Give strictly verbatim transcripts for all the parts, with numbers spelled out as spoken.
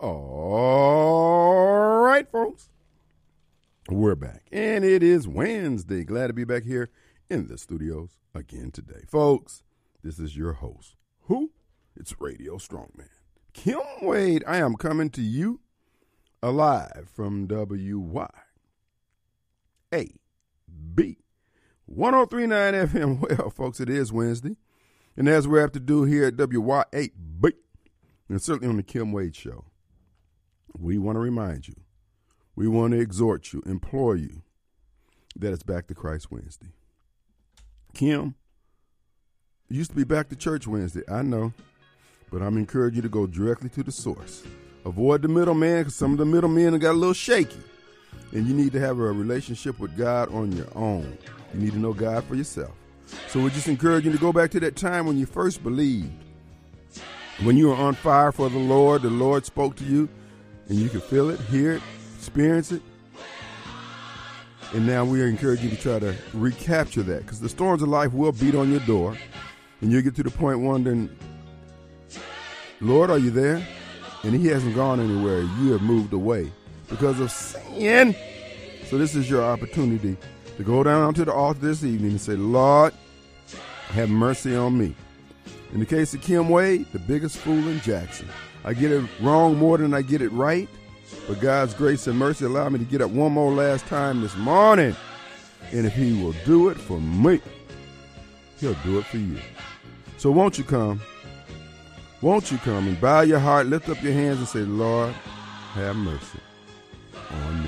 All right, folks. We're back. And it is Wednesday. Glad to be back here in the studios again today. Folks, this is your host. Who? It's Radio Strongman. Kim Wade. I am coming to you alive from W Y A B one oh three point nine F M. Well, folks, it is Wednesday. And as we have to do here at W Y A B, and certainly on the Kim Wade Show, we want to remind you, we want to exhort you, implore you that it's Back to Christ Wednesday. Kim, it used to be Back to Church Wednesday, I know, but I'm encouraging you to go directly to the source. Avoid the middleman, because some of the middlemen got a little shaky, and you need to have a relationship with God on your own. You need to know God for yourself. So we just encourage you to go back to that time when you first believed, when you were on fire for the Lord, the Lord spoke to you, and you could feel it, hear it, experience it. And now we encourage you to try to recapture that, because the storms of life will beat on your door, and you'll get to the point wondering, Lord, are you there? And he hasn't gone anywhere. You have moved away because of sin. So this is your opportunity to go down to the altar this evening and say, Lord, have mercy on me. In the case of Kim Wade, the biggest fool in Jackson. I get it wrong more than I get it right, but God's grace and mercy allowed me to get up one more last time this morning. And if he will do it for me, he'll do it for you. So won't you come? Won't you come and bow your heart, lift up your hands and say, Lord, have mercy on me.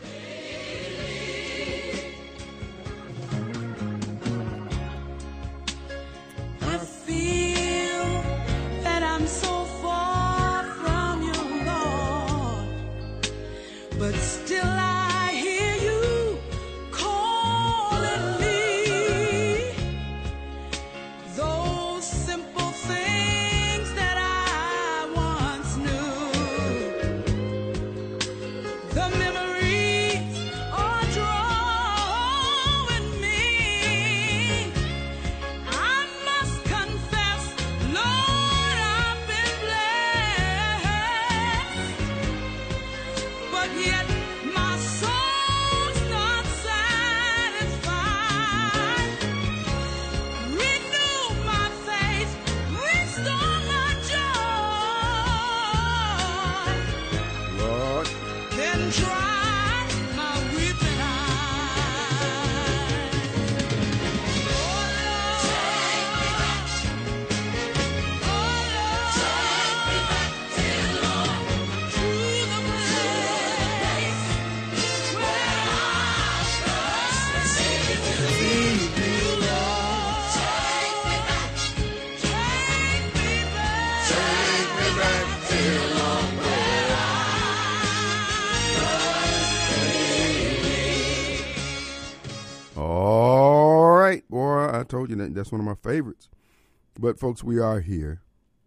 Told you that that's one of my favorites. But folks, we are here,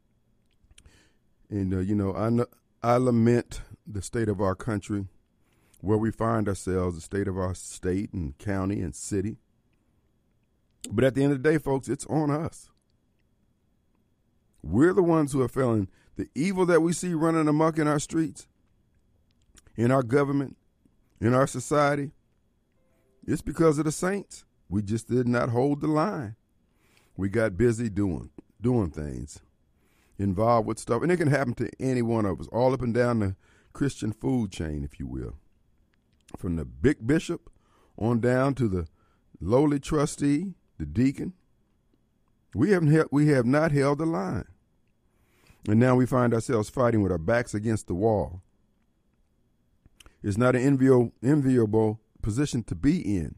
and uh, you know, I I lament the state of our country, where we find ourselves, the state of our state and county and city. But at the end of the day, folks, it's on us. We're the ones who are feeling the evil that we see running amok in our streets, in our government, in our society. It's because of the saints. We just did not hold the line. We got busy doing doing things, involved with stuff. And it can happen to any one of us, all up and down the Christian food chain, if you will. From the big bishop on down to the lowly trustee, the deacon. We haven't held, we have not held the line. And now we find ourselves fighting with our backs against the wall. It's not an enviable, enviable position to be in.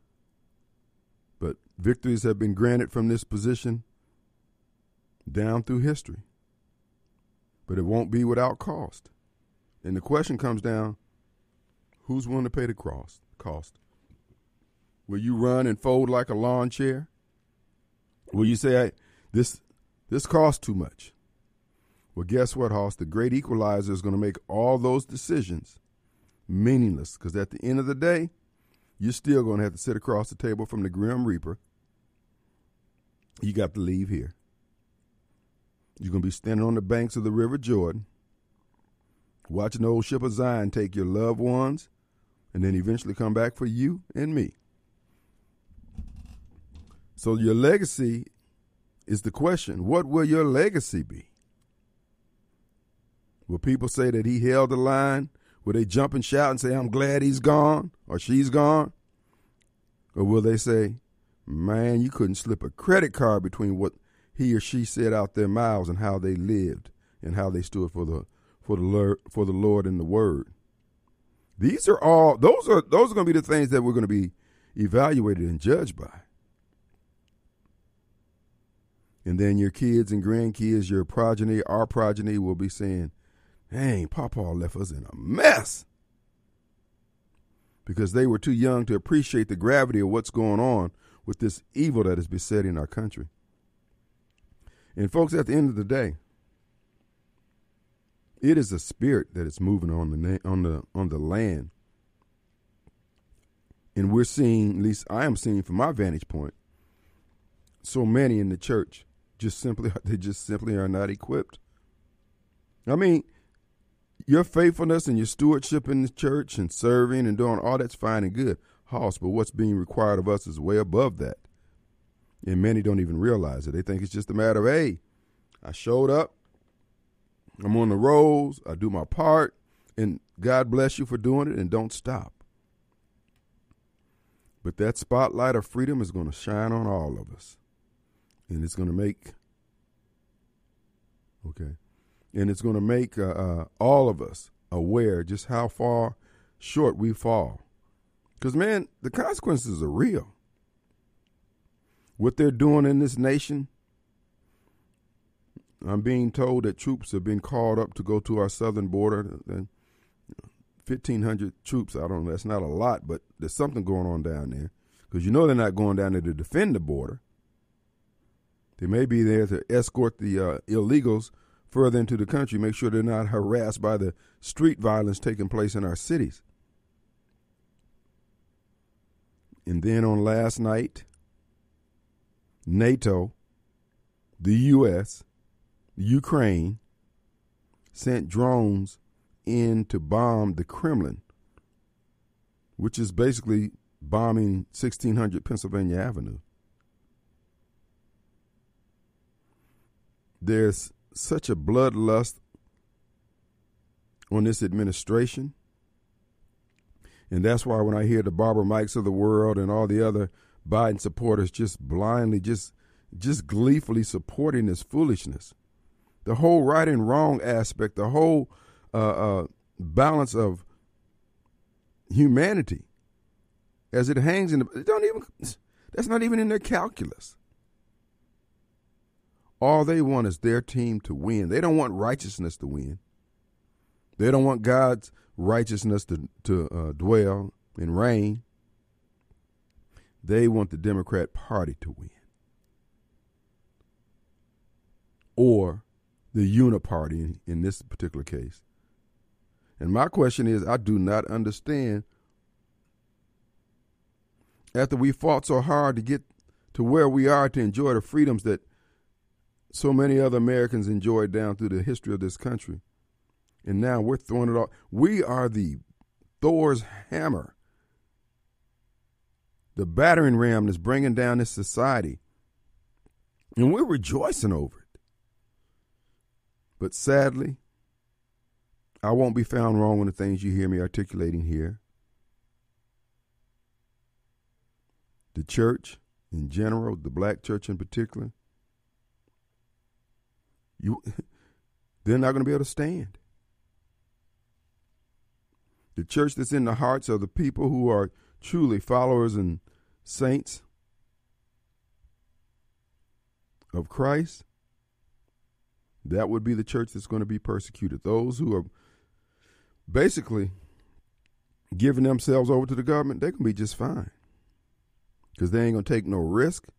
But victories have been granted from this position down through history. But it won't be without cost. And the question comes down, who's willing to pay the cost? cost? Will you run and fold like a lawn chair? Will you say, hey, this this costs too much? Well, guess what, Hoss? The great equalizer is going to make all those decisions meaningless, because at the end of the day, you're still going to have to sit across the table from the Grim Reaper. You got to leave here. You're going to be standing on the banks of the River Jordan, watching the old ship of Zion take your loved ones and then eventually come back for you and me. So your legacy is the question. What will your legacy be? Will people say that he held the line? Will they jump and shout and say, I'm glad he's gone or she's gone? Or will they say, man, you couldn't slip a credit card between what he or she said out their mouths and how they lived and how they stood for the for the Lord, for the Lord and the Word. These are all those are those are going to be the things that we're going to be evaluated and judged by. And then your kids and grandkids, your progeny, our progeny will be saying, dang, Papa left us in a mess. Because they were too young to appreciate the gravity of what's going on with this evil that is besetting our country. And folks, at the end of the day, it is a spirit that is moving on the na- on the on the land. And we're seeing, at least I am seeing from my vantage point, so many in the church just simply they just simply are not equipped. I mean, your faithfulness and your stewardship in the church and serving and doing all that's fine and good, Hoss, but what's being required of us is way above that. And many don't even realize it. They think it's just a matter of, hey, I showed up, I'm on the rolls, I do my part, and God bless you for doing it, and don't stop. But that spotlight of freedom is going to shine on all of us. And it's going to make, okay, and it's going to make uh, uh, all of us aware just how far short we fall. Because, man, the consequences are real. What they're doing in this nation, I'm being told that troops have been called up to go to our southern border. fifteen hundred troops, I don't know, that's not a lot, but there's something going on down there. Because you know they're not going down there to defend the border. They may be there to escort the uh, illegals further into the country, make sure they're not harassed by the street violence taking place in our cities. And then on last night, NATO, the U S, Ukraine sent drones in to bomb the Kremlin, which is basically bombing sixteen hundred Pennsylvania Avenue. There's such a bloodlust on this administration. And that's why when I hear the Barbara Mikes of the world and all the other Biden supporters just blindly, just just gleefully supporting this foolishness, the whole right and wrong aspect, the whole uh, uh, balance of humanity as it hangs in the, it don't even, that's not even in their calculus. All they want is their team to win. They don't want righteousness to win. They don't want God's righteousness to, to uh, dwell and reign. They want the Democrat Party to win. Or the Uniparty in, in this particular case. And my question is, I do not understand, after we fought so hard to get to where we are to enjoy the freedoms that so many other Americans enjoyed down through the history of this country, and now we're throwing it off. We are the Thor's hammer, the battering ram that's bringing down this society, and we're rejoicing over it. But sadly, I won't be found wrong in the things you hear me articulating here. The church in general, the black church in particular, you, they're not going to be able to stand. The church that's in the hearts of the people who are truly followers and saints of Christ, that would be the church that's going to be persecuted. Those who are basically giving themselves over to the government, they can be just fine because they ain't going to take no risk,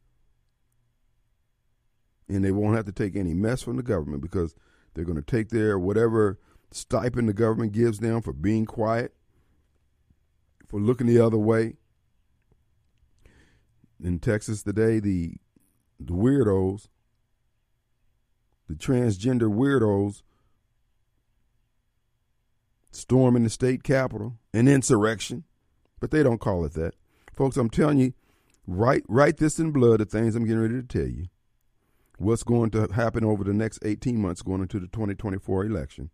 and they won't have to take any mess from the government because they're going to take their whatever stipend the government gives them for being quiet, for looking the other way. In Texas today, the the weirdos, the transgender weirdos, storming the state capitol, an insurrection, but they don't call it that. Folks, I'm telling you, write, write this in blood, the things I'm getting ready to tell you. What's going to happen over the next eighteen months going into the twenty twenty-four election.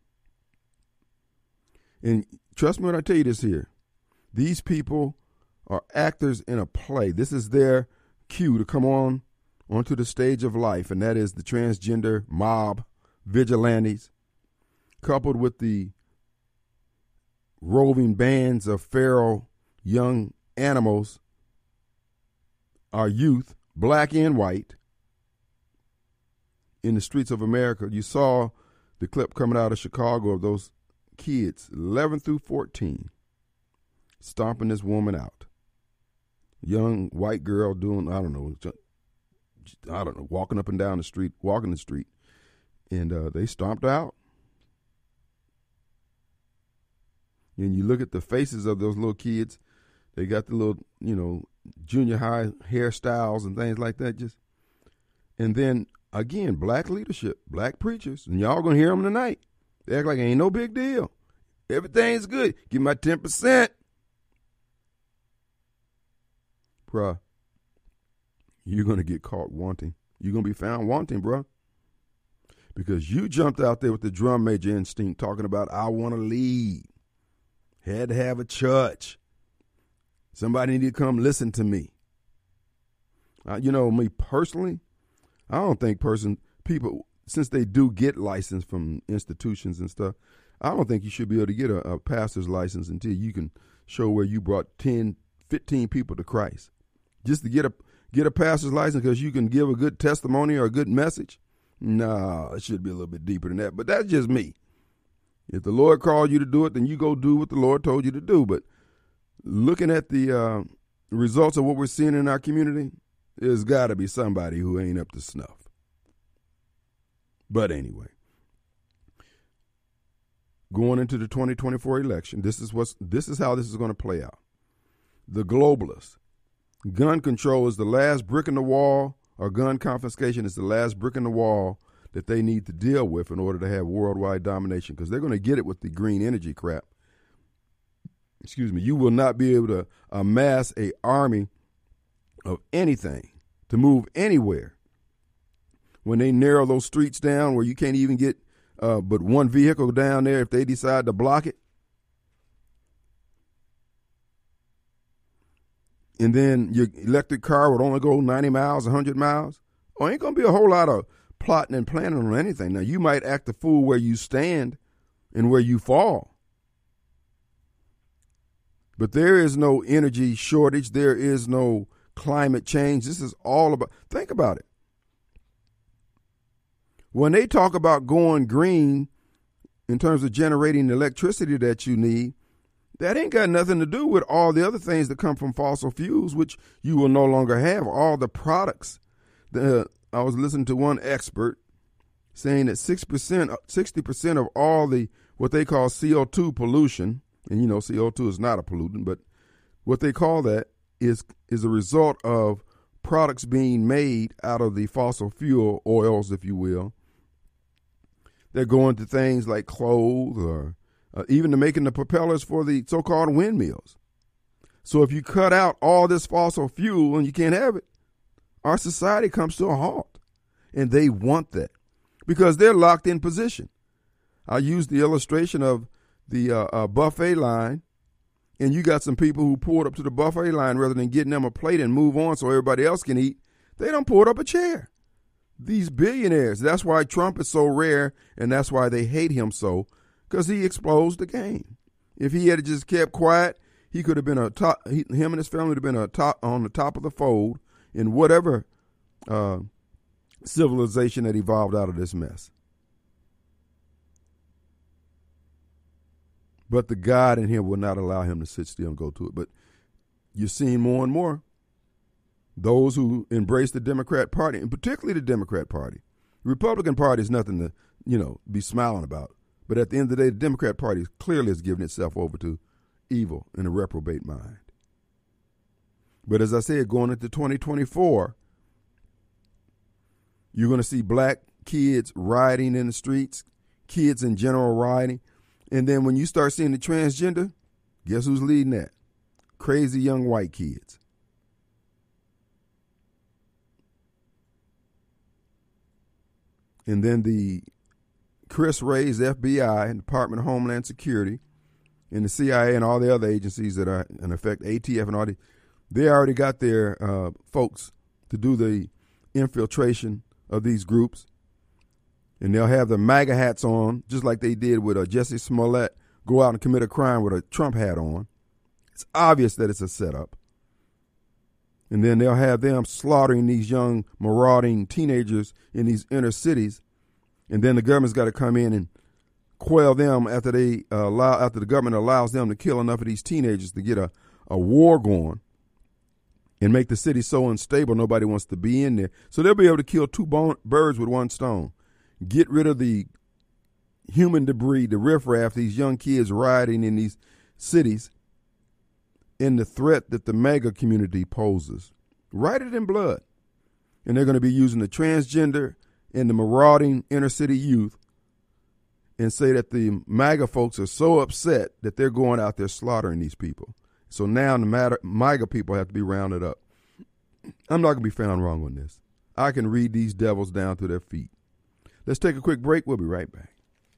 And trust me when I tell you this here. These people are actors in a play. This is their cue to come on onto the stage of life, and that is the transgender mob vigilantes, coupled with the roving bands of feral young animals, our youth, black and white, in the streets of America. You saw the clip coming out of Chicago of those kids, eleven through fourteen, stomping this woman out. Young white girl doing, I don't know, I don't know, walking up and down the street, walking the street, and uh, they stomped her out. And you look at the faces of those little kids, they got the little, you know, junior high hairstyles and things like that. Just, and then again, black leadership, black preachers, and y'all gonna hear them tonight. They act like it ain't no big deal. Everything's good. Give me my ten percent. Bruh, you're going to get caught wanting. You're going to be found wanting, bruh. Because you jumped out there with the drum major instinct talking about, I want to lead. Had to have a church. Somebody need to come listen to me. Uh, you know, me personally, I don't think person people, since they do get licensed from institutions and stuff, I don't think you should be able to get a, a pastor's license until you can show where you brought ten, fifteen people to Christ. Just to get a get a pastor's license because you can give a good testimony or a good message? No, it should be a little bit deeper than that. But that's just me. If the Lord called you to do it, then you go do what the Lord told you to do. But looking at the uh, results of what we're seeing in our community, there's got to be somebody who ain't up to snuff. But anyway, going into the twenty twenty-four election, this is what's this is how this is going to play out. The globalists. Gun control is the last brick in the wall, or gun confiscation is the last brick in the wall that they need to deal with in order to have worldwide domination, because they're going to get it with the green energy crap. Excuse me. You will not be able to amass a army of anything to move anywhere when they narrow those streets down where you can't even get uh, but one vehicle down there if they decide to block it. And then your electric car would only go ninety miles, one hundred miles. Oh, ain't going to be a whole lot of plotting and planning on anything. Now, you might act a fool where you stand and where you fall. But there is no energy shortage. There is no climate change. This is all about, think about it. When they talk about going green in terms of generating the electricity that you need, that ain't got nothing to do with all the other things that come from fossil fuels, which you will no longer have. All the products. The, I was listening to one expert saying that six percent, sixty percent of all the what they call C O two pollution, and you know C O two is not a pollutant, but what they call that is is a result of products being made out of the fossil fuel oils, if you will. They're going to things like clothes or Uh, even to making the propellers for the so-called windmills. So if you cut out all this fossil fuel and you can't have it, our society comes to a halt. And they want that because they're locked in position. I used the illustration of the uh, uh, buffet line, and you got some people who pulled up to the buffet line rather than getting them a plate and move on so everybody else can eat. They done pulled up a chair. These billionaires, that's why Trump is so rare, and that's why they hate him so, because he exposed the game. If he had just kept quiet, he could have been a top. He, him and his family would have been a top on the top of the fold in whatever uh, civilization that evolved out of this mess. But the God in him will not allow him to sit still and go to it. But you're seeing more and more those who embrace the Democrat Party, and particularly the Democrat Party. The Republican Party is nothing to, you know, be smiling about. But at the end of the day, the Democrat Party clearly has given itself over to evil and a reprobate mind. But as I said, going into twenty twenty-four, you're going to see black kids rioting in the streets, kids in general rioting. And then when you start seeing the transgender, guess who's leading that? Crazy young white kids. And then the Chris Wray's F B I and Department of Homeland Security and the C I A and all the other agencies that are in effect, A T F and all the, they already got their uh, folks to do the infiltration of these groups. And they'll have the MAGA hats on, just like they did with uh, Jesse Smollett, go out and commit a crime with a Trump hat on. It's obvious that it's a setup. And then they'll have them slaughtering these young, marauding teenagers in these inner cities. And then the government's got to come in and quell them after they uh, allow, after the government allows them to kill enough of these teenagers to get a, a war going and make the city so unstable nobody wants to be in there. So they'll be able to kill two bone, birds with one stone. Get rid of the human debris, the riffraff, these young kids riding in these cities, and the threat that the MAGA community poses. Write it in blood. And they're going to be using the transgender and the marauding inner city youth and say that the MAGA folks are so upset that they're going out there slaughtering these people. So now the MAGA people have to be rounded up. I'm not going to be found wrong on this. I can read these devils down to their feet. Let's take a quick break. We'll be right back.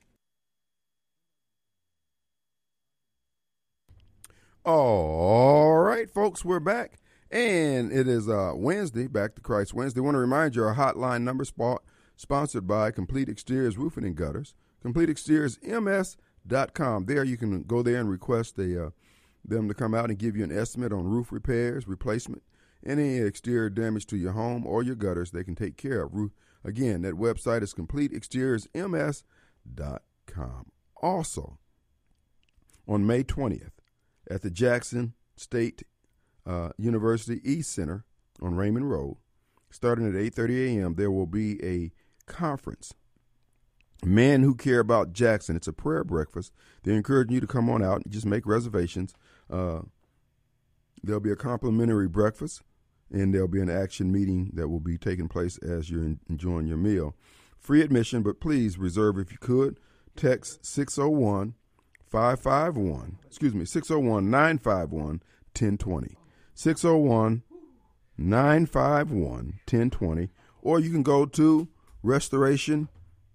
All right, folks, we're back. And it is uh, Wednesday, Back to Christ Wednesday. I want to remind you our hotline number spot, sponsored by Complete Exteriors Roofing and Gutters, complete exteriors m s dot com. There you can go there and request a, uh, them to come out and give you an estimate on roof repairs, replacement, any exterior damage to your home or your gutters they can take care of. Roof, again, that website is complete exteriors m s dot com. Also, on May twentieth, at the Jackson State uh, University East Center on Raymond Road, starting at eight thirty a.m., there will be a conference. Men Who Care About Jackson. It's a prayer breakfast. They're encouraging you to come on out and just make reservations. Uh, there'll be a complimentary breakfast, and there'll be an action meeting that will be taking place as you're in, enjoying your meal. Free admission, but please reserve if you could. Text six oh one, five five one, excuse me, six oh one, nine five one, one oh two oh. six oh one, nine five one, one oh two oh. Or you can go to Restoration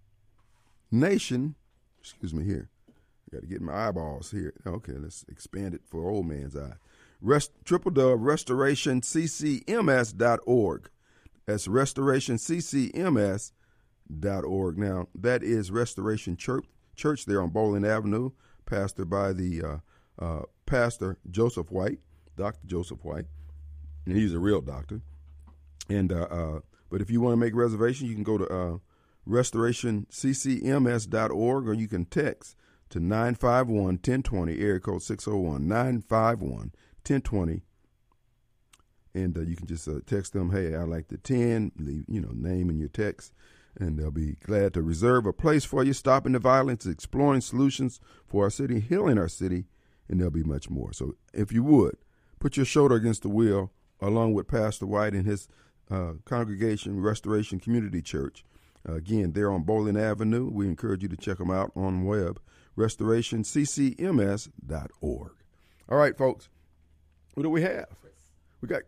Nation, excuse me here. I got to get my eyeballs here. Okay, let's expand it for old man's eye. Rest, triple W restoration c c m s dot org. That's restoration c c m s dot org. Now, that is Restoration Church, Church there on Bowling Avenue, pastored by the uh, uh, Pastor Joseph White, Doctor Joseph White, and he's a real doctor. And uh, uh, but if you want to make reservation, you can go to uh, restoration c c m s dot org, or you can text to nine five one, one oh two oh, area code six oh one, nine five one, one oh two oh. And uh, you can just uh, text them, hey, I like the ten, leave, you know, name in your text, and they'll be glad to reserve a place for you, stopping the violence, exploring solutions for our city, healing our city, and there'll be much more. So if you would, put your shoulder against the wheel, along with Pastor White and his uh, congregation, Restoration Community Church. Uh, again, they're on Bowling Avenue. We encourage you to check them out on web, restoration c c m s dot org. All right, folks, what do we have? We got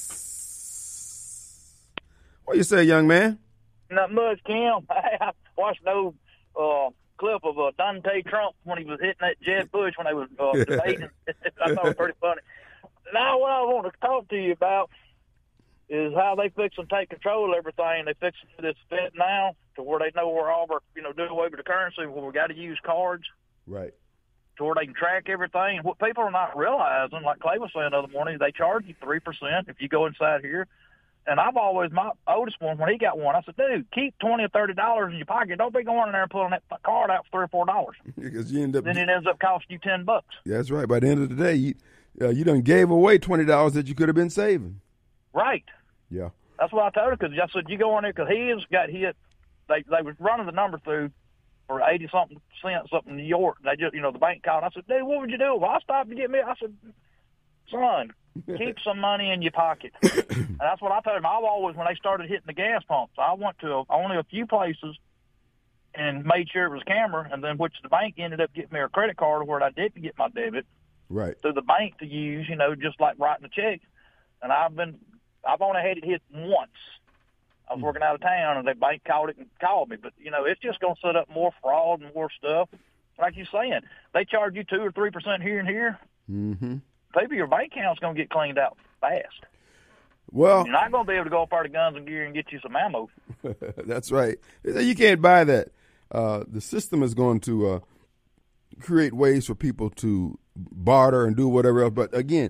Chris. What you say, young man? Not much, Kim. I watched an old uh, clip of uh, Dante Trump when he was hitting that Jeb Bush when they was uh, debating. I thought it was pretty funny. Now, what I want to talk to you about is how they fix and take control of everything. They fix this Fed now to where they know where all of our, you know, do away with the currency, where we got to use cards. Right. To where they can track everything. What people are not realizing, like Clay was saying the other morning, they charge you three percent if you go inside here. And I've always, my oldest one, when he got one, I said, dude, keep twenty or thirty dollars in your pocket. Don't be going in there and pulling that card out for three or four dollars. Because you end up, then it ends up costing you ten bucks. Yeah, that's right. By the end of the day, you, uh, you done gave away twenty dollars that you could have been saving. Right. Yeah. That's what I told her, because I said, you go in there, because he has got hit. They they was running the number through for eighty-something cents up in New York. They just, you know, the bank called. I said, dude, what would you do? Well, I stopped to get me. I said, son, keep some money in your pocket. And that's what I told him. I've always, when they started hitting the gas pumps, I went to a, only a few places and made sure it was a camera, and then which the bank ended up getting me a credit card where I didn't get my debit. Right. To the bank to use, you know, just like writing a check. And I've been, I've only had it hit once. I was mm. working out of town, and the bank called it and called me. But, you know, it's just going to set up more fraud and more stuff. Like you're saying, they charge you two or three percent here and here. Mm-hmm. Maybe your bank account's going to get cleaned out fast. Well, you're not going to be able to go up there to Guns and Gear and get you some ammo. That's right. You can't buy that. Uh, the system is going to uh, create ways for people to barter and do whatever else. But again,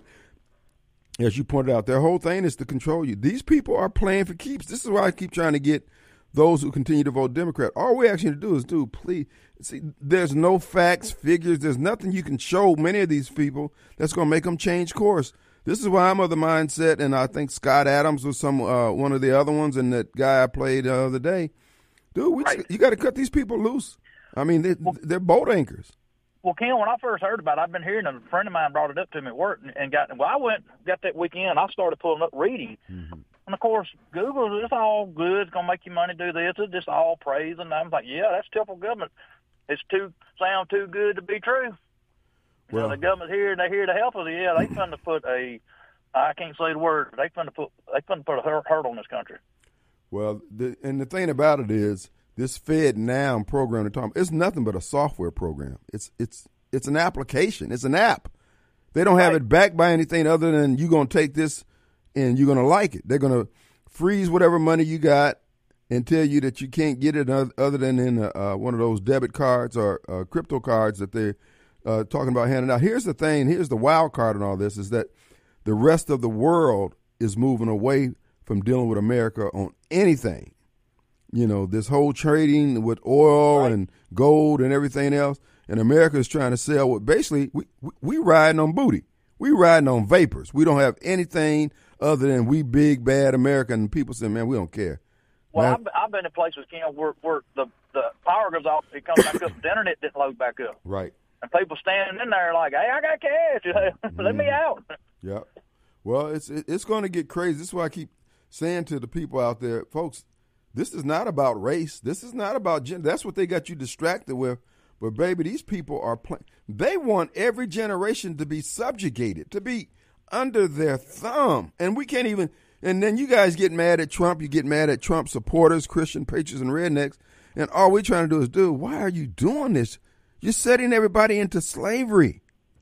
as you pointed out, their whole thing is to control you. These people are playing for keeps. This is why I keep trying to get those who continue to vote Democrat. All we actually do is do, please. See, there's no facts, figures. There's nothing you can show many of these people that's going to make them change course. This is why I'm of the mindset, and I think Scott Adams was some uh, one of the other ones, and that guy I played the other day. Dude, we right. just, you got to cut these people loose. I mean, they, well, they're boat anchors. Well, Ken, when I first heard about it, I've been hearing, and a friend of mine brought it up to me at work, and, and got. Well, I went, got that weekend, I started pulling up reading. Mm-hmm. And, of course, Google, it's all good. It's going to make you money, do this. It's just all praise. And I'm like, yeah, that's typical government. It's too sound too good to be true. Well, you know, the government's here, and they're here to help us. Yeah, they finna put a, I can't say the word, but they finna put, they finna put a hurdle in this country. Well, the, and the thing about it is, this FedNow program, it's nothing but a software program. It's it's it's an application. It's an app. They don't have right. it backed by anything other than you're going to take this and you're going to like it. They're going to freeze whatever money you got and tell you that you can't get it other than in a, uh, one of those debit cards or uh, crypto cards that they're uh, talking about handing out. Here's the thing. Here's the wild card in all this is that the rest of the world is moving away from dealing with America on anything. You know, this whole trading with oil right. and gold and everything else. And America is trying to sell what basically we, we, we riding on booty. We riding on vapors. We don't have anything other than we big, bad American people say, man, we don't care. Well, I've, I've been in places, Ken, where, where the, the power goes off, it comes back up, the internet didn't load back up. Right. And people standing in there like, hey, I got cash. Let mm. me out. Yeah. Well, it's it's going to get crazy. This is why I keep saying to the people out there, folks, this is not about race. This is not about gender. That's what they got you distracted with. But, baby, these people are playing. They want every generation to be subjugated, to be under their thumb. And we can't even – and then you guys get mad at Trump. You get mad at Trump supporters, Christian patriots, and rednecks. And all we're trying to do is, dude, why are you doing this? You're setting everybody into slavery.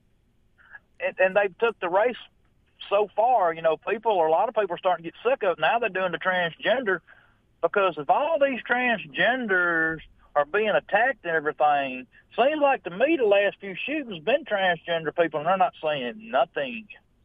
And, and they took the race so far. You know, people – a lot of people are starting to get sick of it. Now they're doing the transgender. Because if all these transgenders are being attacked and everything, seems like to me the last few shootings been transgender people, and they're not saying nothing.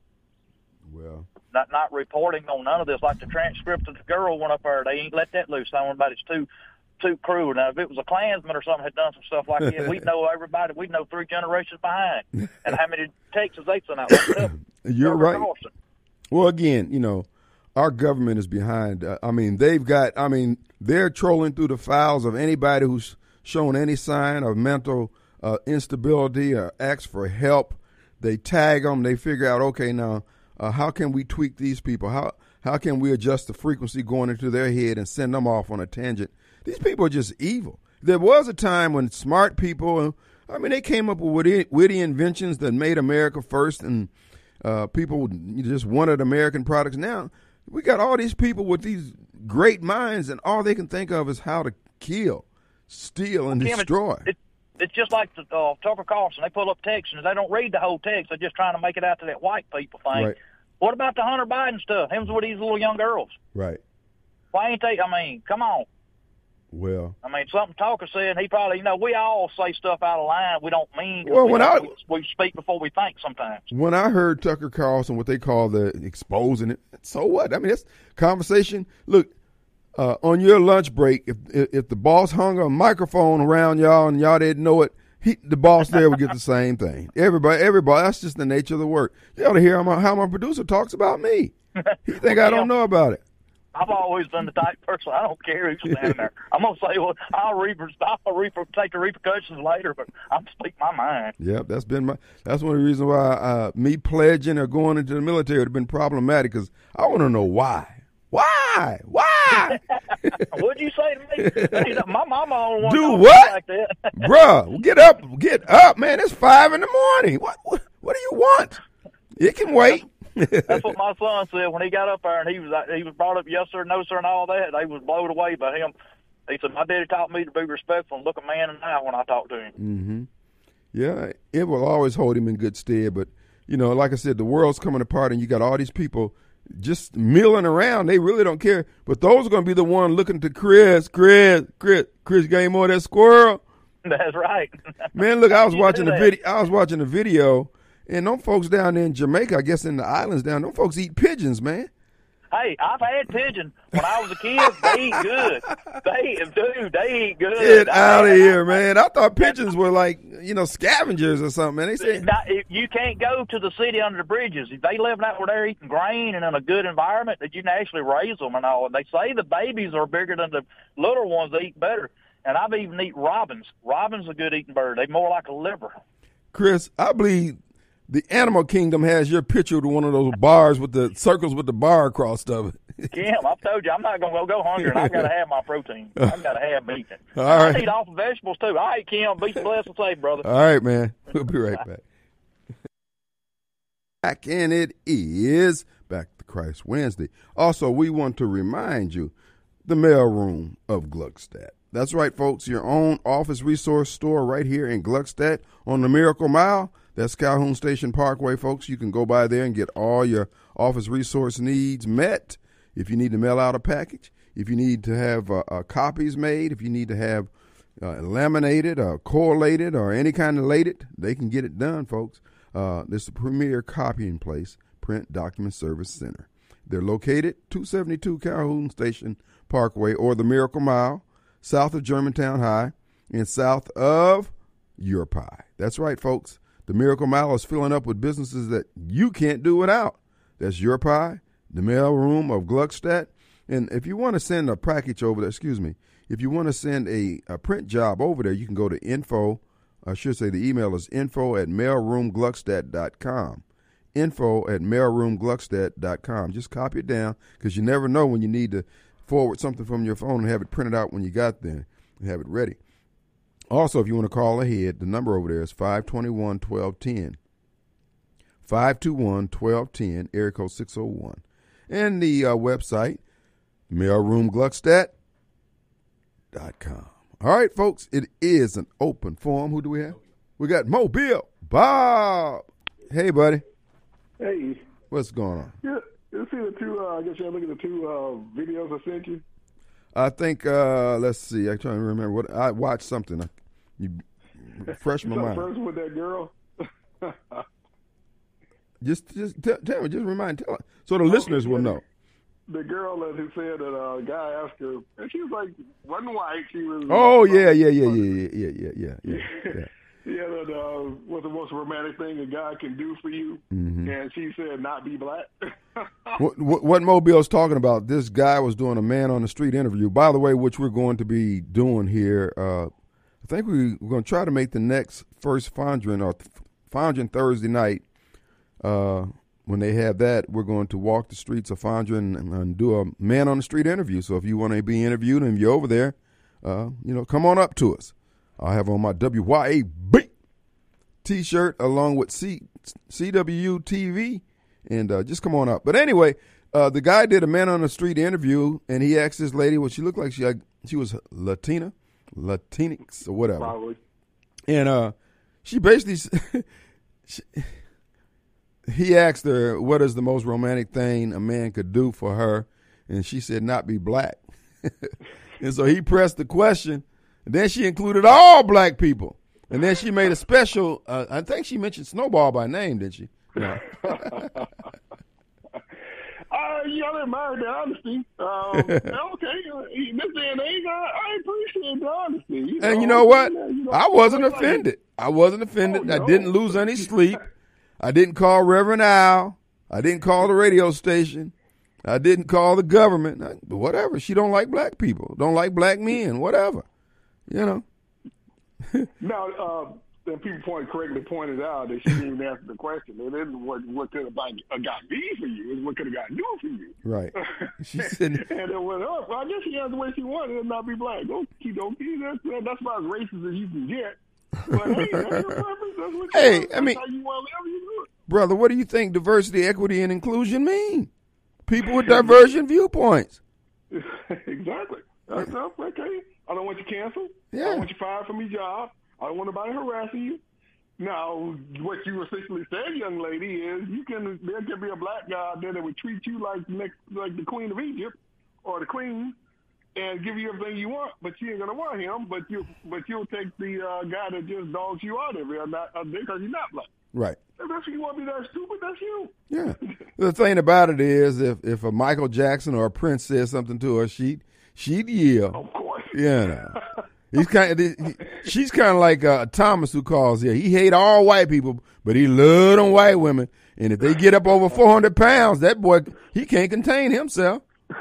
Well, not not reporting on none of this. Like the transcript of the girl went up there, they ain't let that loose on anybody's too too cruel. Now, if it was a Klansman or something had done some stuff like that, we'd know everybody. We'd know three generations behind, and how many texts they sent out. Like You're right. Carlson. Well, again, you know. Our government is behind. Uh, I mean, they've got, I mean, they're trolling through the files of anybody who's shown any sign of mental uh, instability or asks for help. They tag them. They figure out, okay, now, uh, how can we tweak these people? How how can we adjust the frequency going into their head and send them off on a tangent? These people are just evil. There was a time when smart people, I mean, they came up with witty, witty inventions that made America first, and uh, people just wanted American products. Now, we got all these people with these great minds, and all they can think of is how to kill, steal, and Kim, destroy. It, it, it's just like the, uh, Tucker Carlson. They pull up text, and they don't read the whole text. They're just trying to make it out to that white people thing. Right. What about the Hunter Biden stuff? Him with these little young girls. Right. Why ain't they? I mean, come on. Well, I mean, something Tucker said, he probably, you know, we all say stuff out of line we don't mean. Well, we, when I, we, we speak before we think sometimes. When I heard Tucker Carlson, what they call the exposing it, so what? I mean, that's conversation. Look, uh, on your lunch break, if if the boss hung a microphone around y'all and y'all didn't know it, he, the boss there would get the same thing. Everybody, everybody, that's just the nature of the work. You ought to hear how my, how my producer talks about me. He think well, I don't know about it. I've always been the type of person, I don't care who's standing there. I'm going to say, well, I'll, reper- I'll reper- take the repercussions later, but I'm speak my mind. Yep, that's been my, that's one of the reasons why uh, me pledging or going into the military would have been problematic, because I want to know why. Why? Why? die. What'd you say to me? My mama on one do what? Like that. Bruh, get up, get up, man. It's five in the morning. What, what, what do you want? It can wait. That's what my son said when he got up there, and he was he was brought up yes sir, no sir, and all that. They was blown away by him. He said, my daddy taught me to be respectful and look a man in the eye when I talk to him. Mm-hmm. Yeah, it will always hold him in good stead. But, you know, like I said, the world's coming apart, and you got all these people just milling around. They really don't care. But those are going to be the one looking to Chris, Chris, Chris, Chris gave more of that squirrel. That's right. Man, look, I was watching the video. I was watching the video, and them folks down there in Jamaica, I guess in the islands down, them folks eat pigeons, man. Hey, I've had pigeon when I was a kid. They eat good. They, dude, they eat good. Get out of here, man. I thought pigeons were like, you know, scavengers or something, man. They said you can't go to the city under the bridges. If they live out where they're eating grain and in a good environment, that you can actually raise them and all. They say the babies are bigger than the little ones. They eat better. And I've even eaten robins. Robins are a good eating bird. They're more like a liver. Chris, I believe the animal kingdom has your picture to one of those bars with the circles with the bar across of it. Kim, I've told you, I'm not going to go hungry, and I've got to have my protein. I've got to have meat. All right. I eat off of vegetables, too. All right, Kim, be blessed and safe, brother. All right, man. We'll be right back. Back, and it is Back to Christ Wednesday. Also, we want to remind you, the mailroom of Gluckstadt. That's right, folks, your own office resource store right here in Gluckstadt on the Miracle Mile. That's Calhoun Station Parkway, folks. You can go by there and get all your office resource needs met. If you need to mail out a package, if you need to have uh, uh, copies made, if you need to have uh, laminated or correlated or any kind of lated, they can get it done, folks. Uh, this is the premier copying place, Print Document Service Center. They're located two seventy-two Calhoun Station Parkway or the Miracle Mile, south of Germantown High and south of Yurpi. That's right, folks. The Miracle Mile is filling up with businesses that you can't do without. That's Yurpi, the mailroom of Gluckstadt. And if you want to send a package over there, excuse me, if you want to send a, a print job over there, you can go to info, I should say the email is info at mailroomgluckstadt dot com. Info at mailroomgluckstadt dot com. Just copy it down because you never know when you need to forward something from your phone and have it printed out when you got there and have it ready. Also, if you want to call ahead, the number over there is five two one, one two one zero. five two one, one two one zero, area code six oh one. And the uh, website, mailroomgluckstadt dot com. All right, folks, it is an open forum. Who do we have? We got Mobile Bob. Hey, buddy. Hey. What's going on? Yeah, you see the two, uh, I guess you're looking at the two uh, videos I sent you? I think, uh, let's see, I'm trying to remember what, I watched something. I, you refresh my mind. First with that girl? just just tell, tell me, just remind, tell so the okay, listeners will know. The girl that who said that a uh, guy asked her, and she was like, wasn't white, she was. Oh, yeah, yeah, yeah, yeah, yeah, yeah, yeah, yeah, yeah. Yeah, that uh, what's the most romantic thing a guy can do for you? Mm-hmm. And she said, not be black. what, what, what Mobile's talking about, this guy was doing a man on the street interview, by the way, which we're going to be doing here. Uh, I think we, we're going to try to make the next first Fondren or Fondren Thursday night. Uh, when they have that, we're going to walk the streets of Fondren and, and do a man on the street interview. So if you want to be interviewed and you're over there, uh, you know, come on up to us. I have on my W Y A B T-shirt along with C, CW T V, and uh, just come on up. But anyway, uh, the guy did a man on the street interview, and he asked this lady what she looked like. She she was Latina, Latinx or whatever. Probably. And uh, she basically, she, he asked her, what is the most romantic thing a man could do for her? And she said, not be black. And so he pressed the question. And then she included all black people. And then she made a special, uh, I think she mentioned Snowball by name, didn't she? No. uh, y'all admire the honesty. Um, okay, in this day and age, I, I appreciate the honesty. You know? And you know what? You know, I wasn't offended. I wasn't offended. Oh, no. I didn't lose any sleep. I didn't call Reverend Al. I didn't call the radio station. I didn't call the government. Whatever. She don't like black people. Don't like black men. Whatever. You know. Now, uh, then people point correctly pointed out that she didn't even answer the question. It isn't what what could have got me for you. It's what could have got you for you. Right. She said, and it went up. Well, I guess she has the way she wanted and not be black. Okie dokie. That's that's about as racist as you can get. But hey, that's your preference. That's what you hey, want. I mean, that's how you want to live. You do it. Brother, what do you think diversity, equity, and inclusion mean? People with divergent viewpoints. Exactly. That's up. Okay. I don't want you canceled. Yeah. I don't want you fired from your job. I don't want nobody harassing you. Now, what you essentially said, young lady, is you can there can be a black guy out there that would treat you like next like the Queen of Egypt or the Queen and give you everything you want, but you ain't gonna want him. But you but you'll take the uh, guy that just dogs you out of there, not uh, because you're not black. Right. If that's you want to be that stupid, that's you. Yeah. The thing about it is, if if a Michael Jackson or a Prince says something to her, she she'd yell. Of course. You know. He's kind of, he, she's kind of like uh, Thomas who calls here. He hate all white people, but he love them white women. And if they get up over four hundred pounds, that boy, he can't contain himself.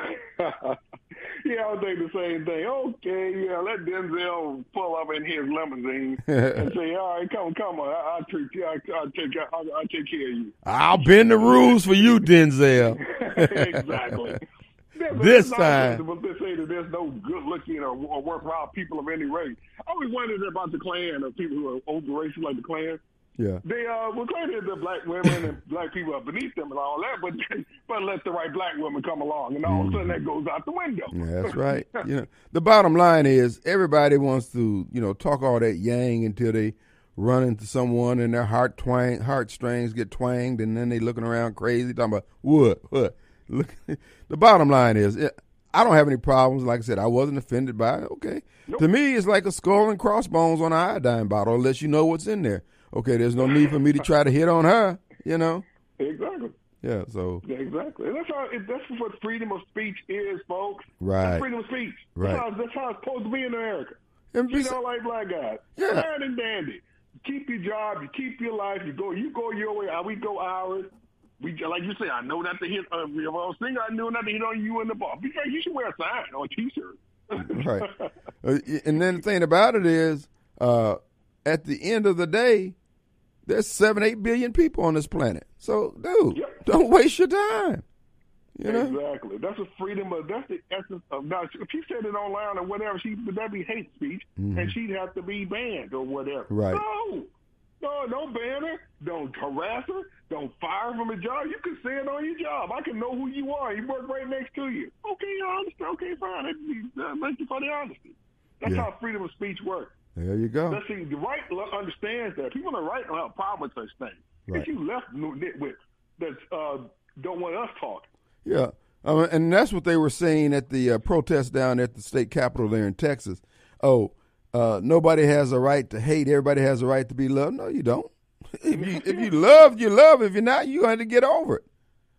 Yeah, I was thinking the same thing. Okay, yeah, let Denzel pull up in his limousine and say, "All right, come, come on, I, I'll take, I, I'll take, I'll, I'll take care of you." I'll bend the rules for you, Denzel. Exactly. There's, This there's time, but they say that there's no good-looking or, or worthwhile people of any race. I always wondered about the Klan or people who are over racial like the Klan. yeah, They uh, were glad that the black women and black people are beneath them and all that, but but let the right black woman come along, and all of a sudden that goes out the window. yeah, that's right. You know, the bottom line is everybody wants to, you know, talk all that yang until they run into someone and their heart twang, heartstrings get twanged, and then they looking around crazy talking about what, what. Look, the bottom line is, I don't have any problems. Like I said, I wasn't offended by it. Okay, nope. To me, it's like a skull and crossbones on an iodine bottle, unless you know what's in there. Okay, there's no need for me to try to hit on her. You know. Exactly. Yeah. So. Exactly. And that's how. That's what freedom of speech is, folks. Right. That's freedom of speech. Right. That's how, that's how it's supposed to be in America. And you don't like black guys. Yeah. Fine and dandy. Keep your job. You keep your life. You go. You go your way. We go ours. We, like you say, I know not to hit. Uh, if I was thinking, I knew not to hit on you in the bar. Because you should wear a sign or a T-shirt. Right. Uh, and then the thing about it is, uh, at the end of the day, there's seven, eight billion people on this planet. So, dude, yep. Don't waste your time. You know? Exactly. That's a freedom of. That's the essence of. Now, if she said it online or whatever, she would that be hate speech, mm-hmm. and she'd have to be banned or whatever. Right. No. No, don't ban her. Don't harass her. Don't fire her from a job. You can say it on your job. I can know who you are. You work right next to you. Okay, I understand. Okay, fine. That thank you for the honesty. That's yeah. how freedom of speech works. There you go. Let's see, the right understands that. People on the right don't have a problem with such things. Right. It's you left nitwits that uh, don't want us talking. Yeah, um, and that's what they were saying at the uh, protest down at the state capitol there in Texas. Oh, Uh, nobody has a right to hate. Everybody has a right to be loved. No, you don't. If you if you love, you love. If you're not, you have to get over it.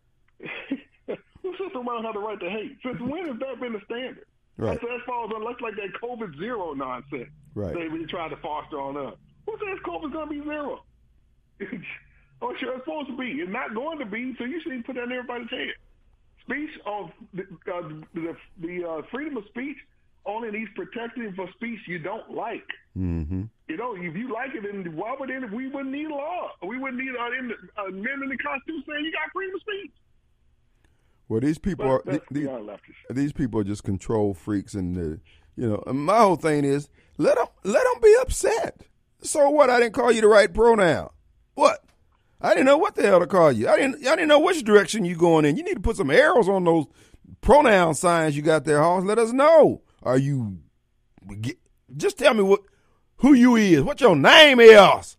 Who says somebody have the right to hate? Since when has that been the standard? Right. That's, that falls on that's like that COVID zero nonsense. Right. They really tried to foster on us. Who says COVID's going to be zero? Oh, sure, it's supposed to be. It's not going to be, so you should put that in everybody's head. Speech of the, uh, the, the uh, freedom of speech only needs protecting for speech you don't like. Mm-hmm. You know, if you like it, then why would it, we wouldn't need law? We wouldn't need uh, in the, uh, men in the Constitution saying you got freedom of speech. Well, these people are these, these people are just control freaks, and uh, you know. And my whole thing is let them let them be upset. So what? I didn't call you the right pronoun. What? I didn't know what the hell to call you. I didn't. I didn't know which direction you going in. You need to put some arrows on those pronoun signs you got there, Hoss. Let us know. Are you? Just tell me what, who you is. What your name is.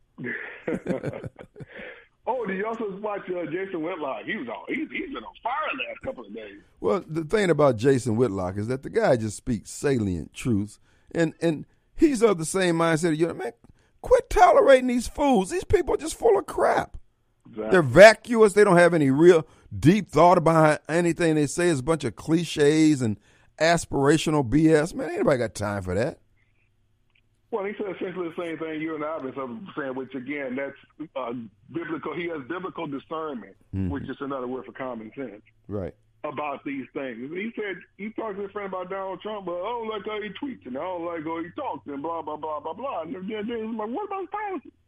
Oh, did you also watch uh, Jason Whitlock? He was on. He's he's been on fire the last couple of days. Well, the thing about Jason Whitlock is that the guy just speaks salient truths, and and he's of the same mindset. You know, man, quit tolerating these fools. These people are just full of crap. Exactly. They're vacuous. They don't have any real deep thought behind anything they say. It's a bunch of cliches and aspirational B S. Man, ain't nobody got time for that. Well, he said essentially the same thing you and I have been saying, which again, that's uh, biblical. He has biblical discernment, mm-hmm. which is another word for common sense. Right. About these things. He said, he talked to his friend about Donald Trump, but I don't like how he tweets and I don't like how he talks and blah, blah, blah, blah, blah. And then he was like, what about his policy?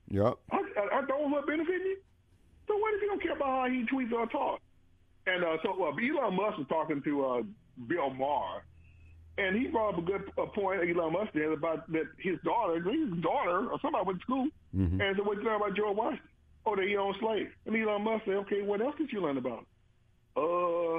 Yep. Are, are those what benefiting you? So what if you don't care about how he tweets or talks? And uh, so uh, Elon Musk was talking to uh, Bill Maher, and he brought up a good uh, point, Elon Musk did, about that his daughter, his daughter or somebody went to school, mm-hmm. and said, what did you learn about George Washington? Oh, that he owned slaves. And Elon Musk said, okay, what else did you learn about him? Uh,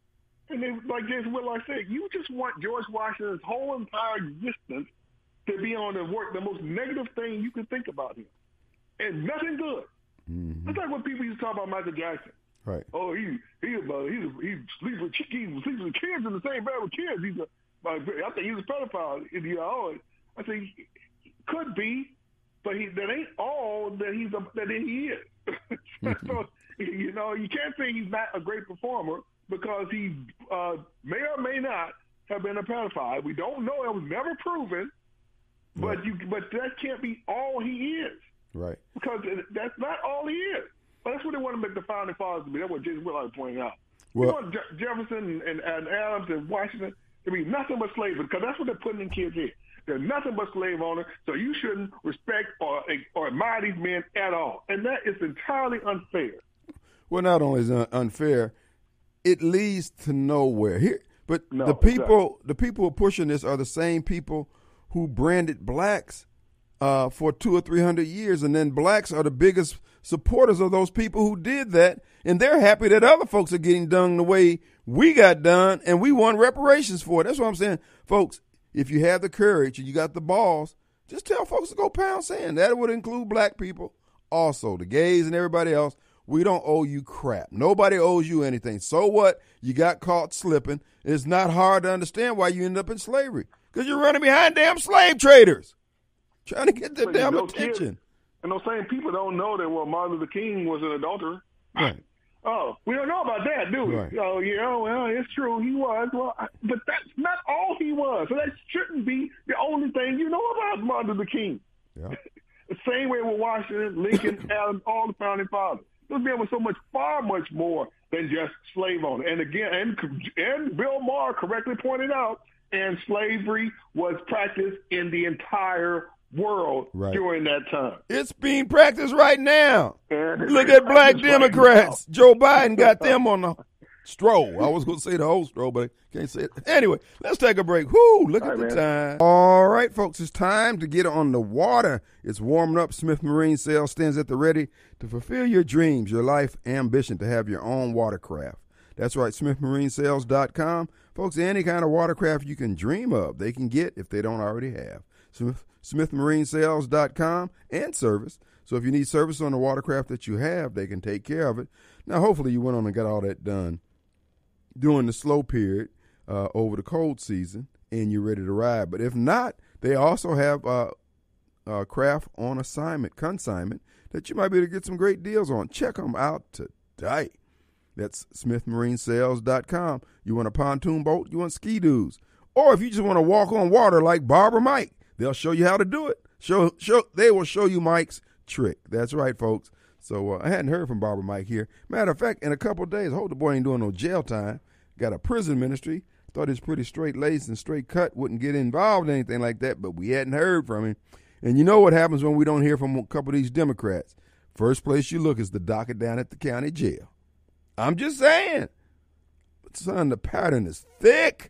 and they, like Jason Whitlock said, you just want George Washington's whole entire existence to be on the work, the most negative thing you can think about him. And nothing good. Mm-hmm. That's like when people used to talk about Michael Jackson. Right. Oh, he he about he he sleeps with he sleeps with kids in the same bed with kids. He's a, I think he's a pedophile. You know, I think he could be, but he that ain't all that he's a, that he is. Mm-hmm. So you know, you can't say he's not a great performer because he uh, may or may not have been a pedophile. We don't know. It was never proven. But right. you but that can't be all he is. Right. Because that's not all he is. But that's what they want to make the founding fathers to be. That's what Jason Whitlock pointed out. Well, you want Je- Jefferson and, and Adams and Washington to be nothing but slavery, because that's what they're putting in kids' heads. They're nothing but slave owners, so you shouldn't respect or, or admire these men at all. And that is entirely unfair. Well, not only is it unfair, it leads to nowhere. Here, but no, the people, exactly. the people who are pushing this are the same people who branded blacks uh, for two or three hundred years, and then blacks are the biggest supporters of those people who did that, and they're happy that other folks are getting done the way we got done, and we want reparations for it. That's what I'm saying, folks. If you have the courage and you got the balls, just tell folks to go pound sand. That would include black people, also the gays and everybody else. We don't owe you crap. Nobody owes you anything. So what? You got caught slipping. It's not hard to understand why you end up in slavery, because you're running behind damn slave traders trying to get their damn attention. Kids, and those same people don't know that, well, Martin Luther King was an adulterer. Right. Oh, we don't know about that, do we? Right. Oh, yeah, well, it's true. He was. Well, I, but that's not all he was. So that shouldn't be the only thing you know about Martin Luther King. Yeah. The same way with Washington, Lincoln, Adams, all the founding fathers. Those men were so much, far much more than just slave owner. And again, and, and Bill Maher correctly pointed out, and slavery was practiced in the entire world right. during that time. It's being practiced right now. And look at black Democrats. Right Joe Biden got them on the stroll. I was going to say the whole stroll, but I can't say it. Anyway, let's take a break. Whoo, look All at right, the man. time. All right, folks, it's time to get on the water. It's warming up. Smith Marine Sales stands at the ready to fulfill your dreams, your life ambition to have your own watercraft. That's right, smith marine sales dot com. Folks, any kind of watercraft you can dream of, they can get if they don't already have. Smith smith marine sales dot com and service. So if you need service on the watercraft that you have, they can take care of it. Now, hopefully you went on and got all that done during the slow period uh, over the cold season, and you're ready to ride. But if not, they also have uh, uh, craft on assignment, consignment, that you might be able to get some great deals on. Check them out today. That's smith marine sales dot com. You want a pontoon boat? You want ski-doos? Or if you just want to walk on water like Barbara Mike, they'll show you how to do it. Show, show, they will show you Mike's trick. That's right, folks. So uh, I hadn't heard from Barbara Mike here. Matter of fact, in a couple of days, I hope the boy ain't doing no jail time. Got a prison ministry. Thought he was pretty straight-laced and straight-cut, wouldn't get involved in anything like that, but we hadn't heard from him. And you know what happens when we don't hear from a couple of these Democrats. First place you look is the docket down at the county jail. I'm just saying. But, son, the pattern is thick.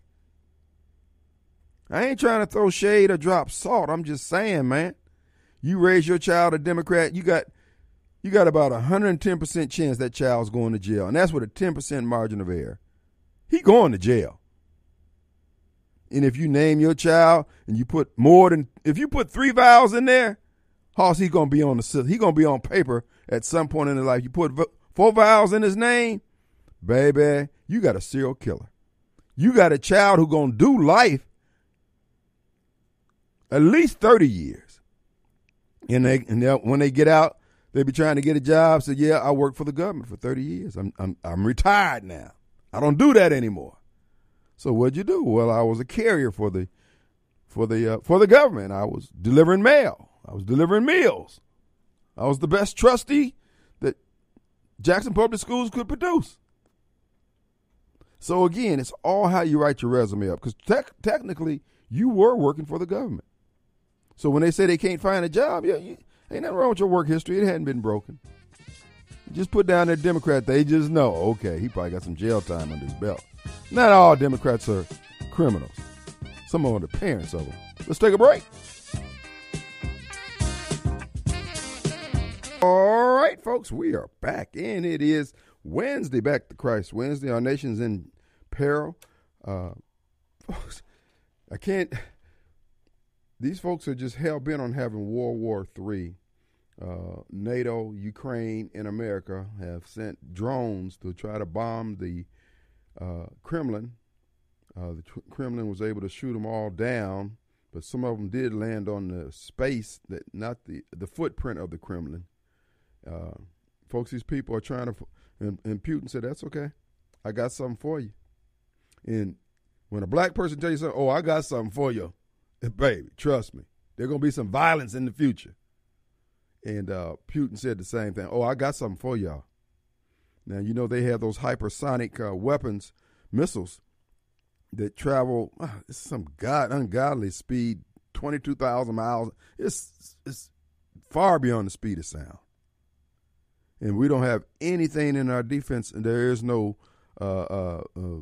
I ain't trying to throw shade or drop salt. I'm just saying, man. You raise your child a Democrat, you got you got about a one hundred ten percent chance that child's going to jail. And that's with a ten percent margin of error. He going to jail. And if you name your child and you put more than, if you put three vowels in there, Hoss, he going to be on the, he going to be on paper at some point in his life. You put four vowels in his name, baby, you got a serial killer. You got a child who going to do life at least thirty years. And they, and when they get out, they be trying to get a job. Say, yeah, I worked for the government for thirty years. I'm, I'm, I'm retired now. I don't do that anymore. So what'd you do? Well, I was a carrier for the, for the, uh, for the government. I was delivering mail. I was delivering meals. I was the best trustee that Jackson Public Schools could produce. So again, it's all how you write your resume up, because te- technically you were working for the government. So when they say they can't find a job, yeah, you, Ain't nothing wrong with your work history. It hadn't been broken. Just put down that Democrat. They just know, okay, he probably got some jail time under his belt. Not all Democrats are criminals. Some of them are the parents of them. Let's take a break. All right, folks, we are back, and it is Wednesday, Back to Christ Wednesday. Our nation's in peril. Uh, folks, I can't, these folks are just hell-bent on having World War Three. Uh, NATO, Ukraine, and America have sent drones to try to bomb the uh, Kremlin. Uh, the tr- Kremlin was able to shoot them all down, but some of them did land on the space, that not the, the footprint of the Kremlin. Uh, folks, these people are trying to, and, and Putin said, that's okay. I got something for you. And when a black person tells you something, oh, I got something for you, baby, trust me, there's going to be some violence in the future. And uh, Putin said the same thing. Oh, I got something for y'all. Now, you know, they have those hypersonic uh, weapons, missiles, that travel uh, some god ungodly speed, twenty-two thousand miles. It's, it's far beyond the speed of sound. And we don't have anything in our defense, and there is no, uh, uh,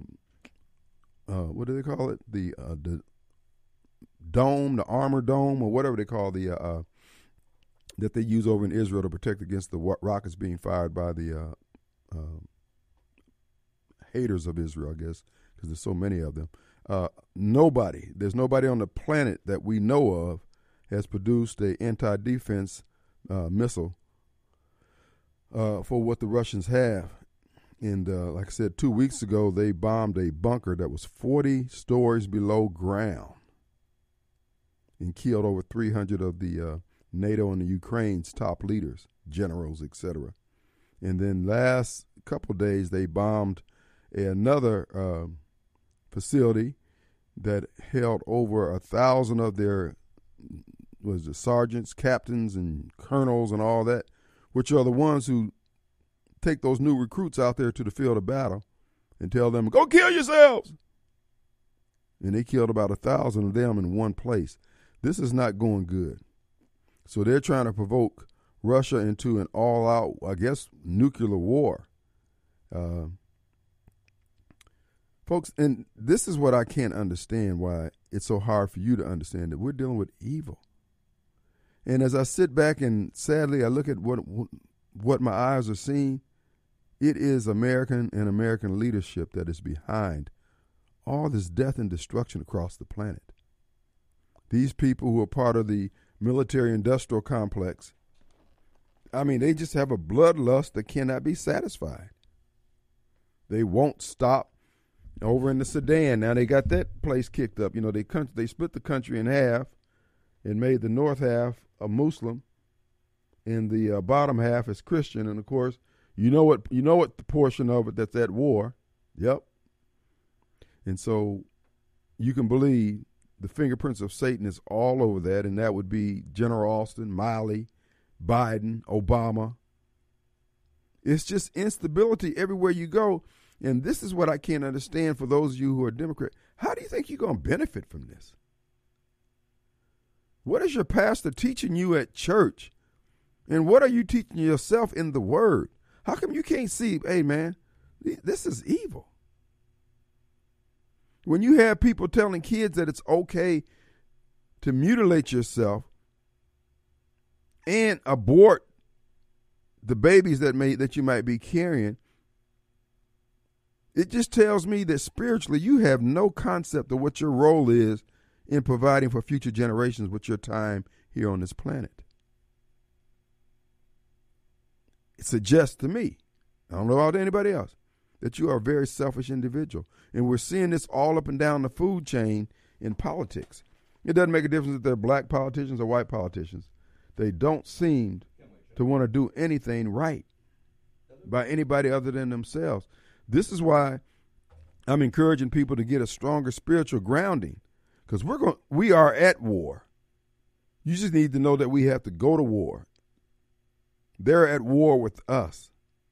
uh, uh, what do they call it? The uh, the dome, the armor dome, or whatever they call the, uh, uh, that they use over in Israel to protect against the rockets being fired by the uh, uh, haters of Israel, I guess, because there's so many of them. Uh, nobody, there's nobody on the planet that we know of has produced a anti-defense uh, missile Uh, for what the Russians have. And uh, like I said, two weeks ago, they bombed a bunker that was forty stories below ground and killed over three hundred of the uh, NATO and the Ukraine's top leaders, generals, et cetera. And then last couple of days, they bombed another uh, facility that held over a thousand of their was it sergeants, captains, and colonels and all that, which are the ones who take those new recruits out there to the field of battle and tell them, go kill yourselves. And they killed about a thousand of them in one place. This is not going good. So they're trying to provoke Russia into an all-out, I guess, nuclear war. Uh, folks, and this is what I can't understand, why it's so hard for you to understand, that we're dealing with evil. And as I sit back and sadly I look at what what my eyes are seeing, it is American and American leadership that is behind all this death and destruction across the planet. These people who are part of the military-industrial complex, I mean, they just have a bloodlust that cannot be satisfied. They won't stop. Over in the Sudan, now they got that place kicked up. You know, they they split the country in half and made the north half a Muslim, and the uh, bottom half is Christian. And of course, you know what you know what the portion of it that's at war. Yep. And so you can believe the fingerprints of Satan is all over that, and that would be General Austin, Miley, Biden, Obama. It's just instability everywhere you go. And this is what I can't understand for those of you who are Democrat. How do you think you're going to benefit from this? What is your pastor teaching you at church? And what are you teaching yourself in the Word? How come you can't see, hey, man, this is evil? When you have people telling kids that it's okay to mutilate yourself and abort the babies that may that you might be carrying, it just tells me that spiritually you have no concept of what your role is in providing for future generations with your time here on this planet. It suggests to me, I don't know about anybody else, that you are a very selfish individual. And we're seeing this all up and down the food chain in politics. It doesn't make a difference if they're black politicians or white politicians. They don't seem to want to do anything right by anybody other than themselves. This is why I'm encouraging people to get a stronger spiritual grounding, because we're going, we are at war. You just need to know that we have to go to war. They're at war with us.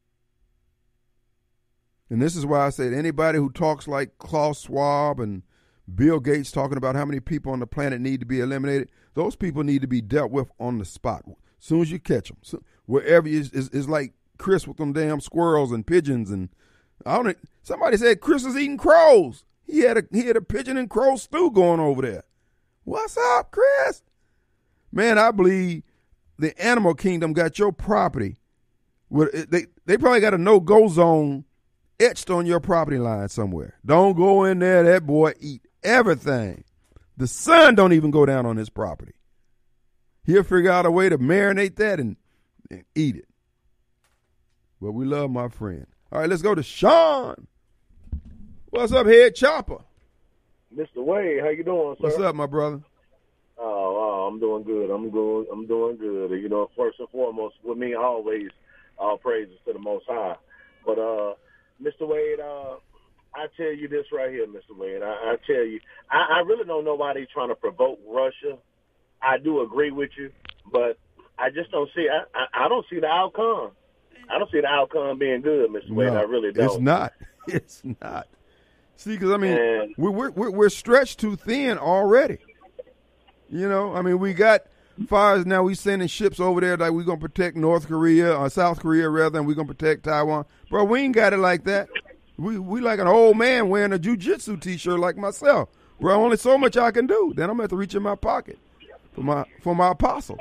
And this is why I said anybody who talks like Klaus Schwab and Bill Gates talking about how many people on the planet need to be eliminated, those people need to be dealt with on the spot. As soon as you catch them, so wherever you, it's, it's like Chris with them damn squirrels and pigeons and I don't. Somebody said Chris is eating crows. He had a he had a pigeon and crow stew going over there. What's up, Chris? Man, I believe the animal kingdom got your property. They they probably got a no-go zone etched on your property line somewhere. Don't go in there. That boy eat everything. The sun don't even go down on his property. He'll figure out a way to marinate that and, and eat it. Well, we love my friend. All right, let's go to Sean. What's up, Head Chopper? Mister Wade, how you doing, sir? What's up, my brother? Oh, oh, I'm doing good. I'm good. I'm doing good. You know, first and foremost, with me, always all praises to the Most High. But, uh, Mister Wade, uh, I tell you this right here, Mister Wade. I, I tell you, I, I really don't know why they're trying to provoke Russia. I do agree with you, but I just don't see. I, I, I don't see the outcome. I don't see the outcome being good, Mister No, Wade. I really don't. It's not. It's not. See, because I mean, and, we're we're we're stretched too thin already. You know, I mean, we got fires now. We sending ships over there like we're gonna protect North Korea or South Korea rather than we're gonna protect Taiwan. Bro, we ain't got it like that. We we like an old man wearing a jujitsu t-shirt like myself. Bro, only so much I can do. Then I'm gonna have to reach in my pocket for my for my apostle.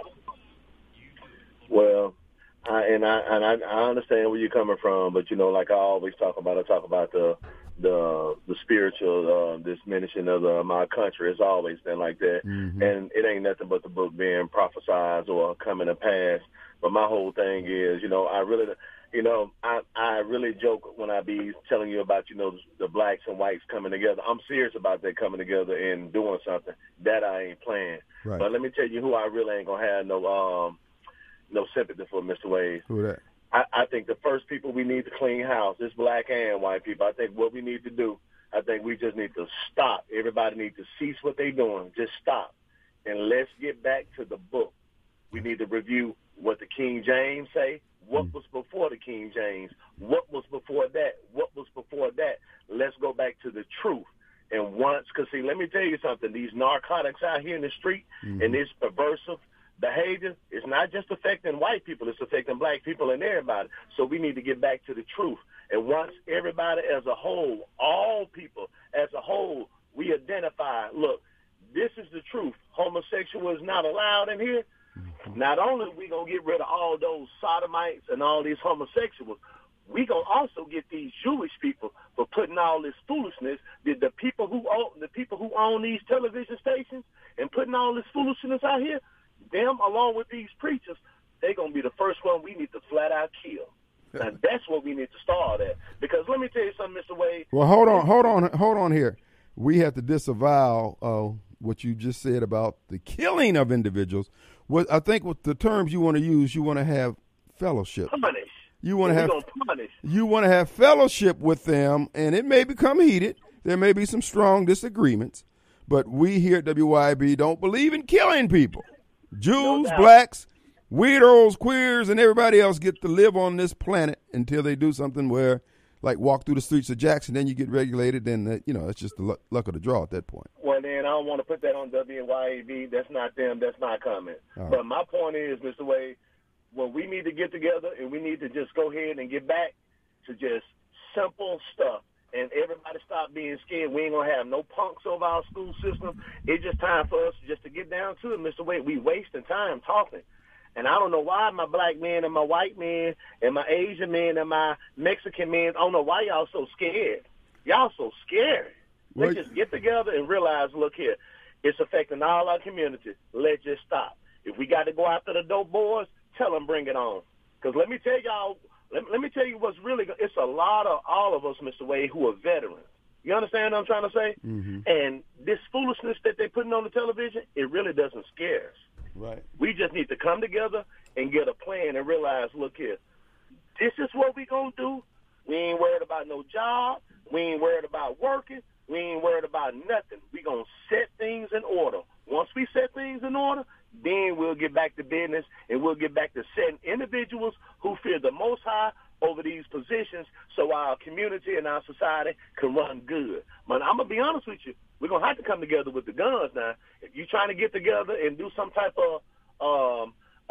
Well, I, and I and I, I understand where you're coming from, but you know, like I always talk about, I talk about the the the spiritual uh, diminishing of the, my country. It's always been like that, mm-hmm. and it ain't nothing but the book being prophesied or coming to pass. But my whole thing is, you know, I really, you know, I I really joke when I be telling you about, you know, the blacks and whites coming together. I'm serious about that coming together and doing something that I ain't playing. Right. But let me tell you who I really ain't gonna have no um. no sympathy for, Mister Wade. Who that? I, I think the first people we need to clean house is black and white people. I think what we need to do, I think we just need to stop. Everybody needs to cease what they're doing. Just stop. And let's get back to the book. We need to review what the King James say, what mm. was before the King James, what was before that, what was before that. Let's go back to the truth. And once, because, see, let me tell you something. These narcotics out here in the street mm-hmm. and this perversive behavior is not just affecting white people, it's affecting black people and everybody. So we need to get back to the truth. And once everybody as a whole, all people as a whole, we identify, look, this is the truth. Homosexual is not allowed in here. Mm-hmm. Not only are we going to get rid of all those sodomites and all these homosexuals, we going to also get these Jewish people for putting all this foolishness, the, the people who own, the people who own these television stations and putting all this foolishness out here, them, along with these preachers, they're going to be the first one we need to flat out kill. Now, that's what we need to start at. Because let me tell you something, Mister Wade. Well, hold on, hold on, hold on here. We have to disavow uh, what you just said about the killing of individuals. What I think with the terms you want to use, you want to have fellowship. Punish. You want to have punish. You want to have fellowship with them, and it may become heated. There may be some strong disagreements, but we here at W Y B don't believe in killing people. Jews, no blacks, weirdos, queers, and everybody else get to live on this planet until they do something where, like, walk through the streets of Jackson, then you get regulated, then, uh, you know, it's just the luck, luck of the draw at that point. Well, then I don't want to put that on W Y A B. That's not them. That's my comment. Right. But my point is, Mister Wade, when we need to get together and we need to just go ahead and get back to just simple stuff, and everybody stop being scared. We ain't going to have no punks over our school system. It's just time for us just to get down to it, Mister Wade. We wasting time talking. And I don't know why my black men and my white men and my Asian men and my Mexican men, I don't know why y'all so scared. Y'all so scared. Let's just get together and realize, look here, it's affecting all our community. Let's just stop. If we got to go after the dope boys, tell them bring it on. Because let me tell y'all, Let, let me tell you what's really – it's a lot of all of us, Mister Wade, who are veterans. You understand what I'm trying to say? Mm-hmm. And this foolishness that they're putting on the television, it really doesn't scare us. Right. We just need to come together and get a plan and realize, look here, this is what we going to do. We ain't worried about no job. We ain't worried about working. We ain't worried about nothing. We going to set things in order. Once we set things in order, then we'll get back to business, and we'll get back to setting individuals who fear the Most High over these positions so our community and our society can run good. But I'm going to be honest with you. We're going to have to come together with the guns now. If you're trying to get together and do some type of um,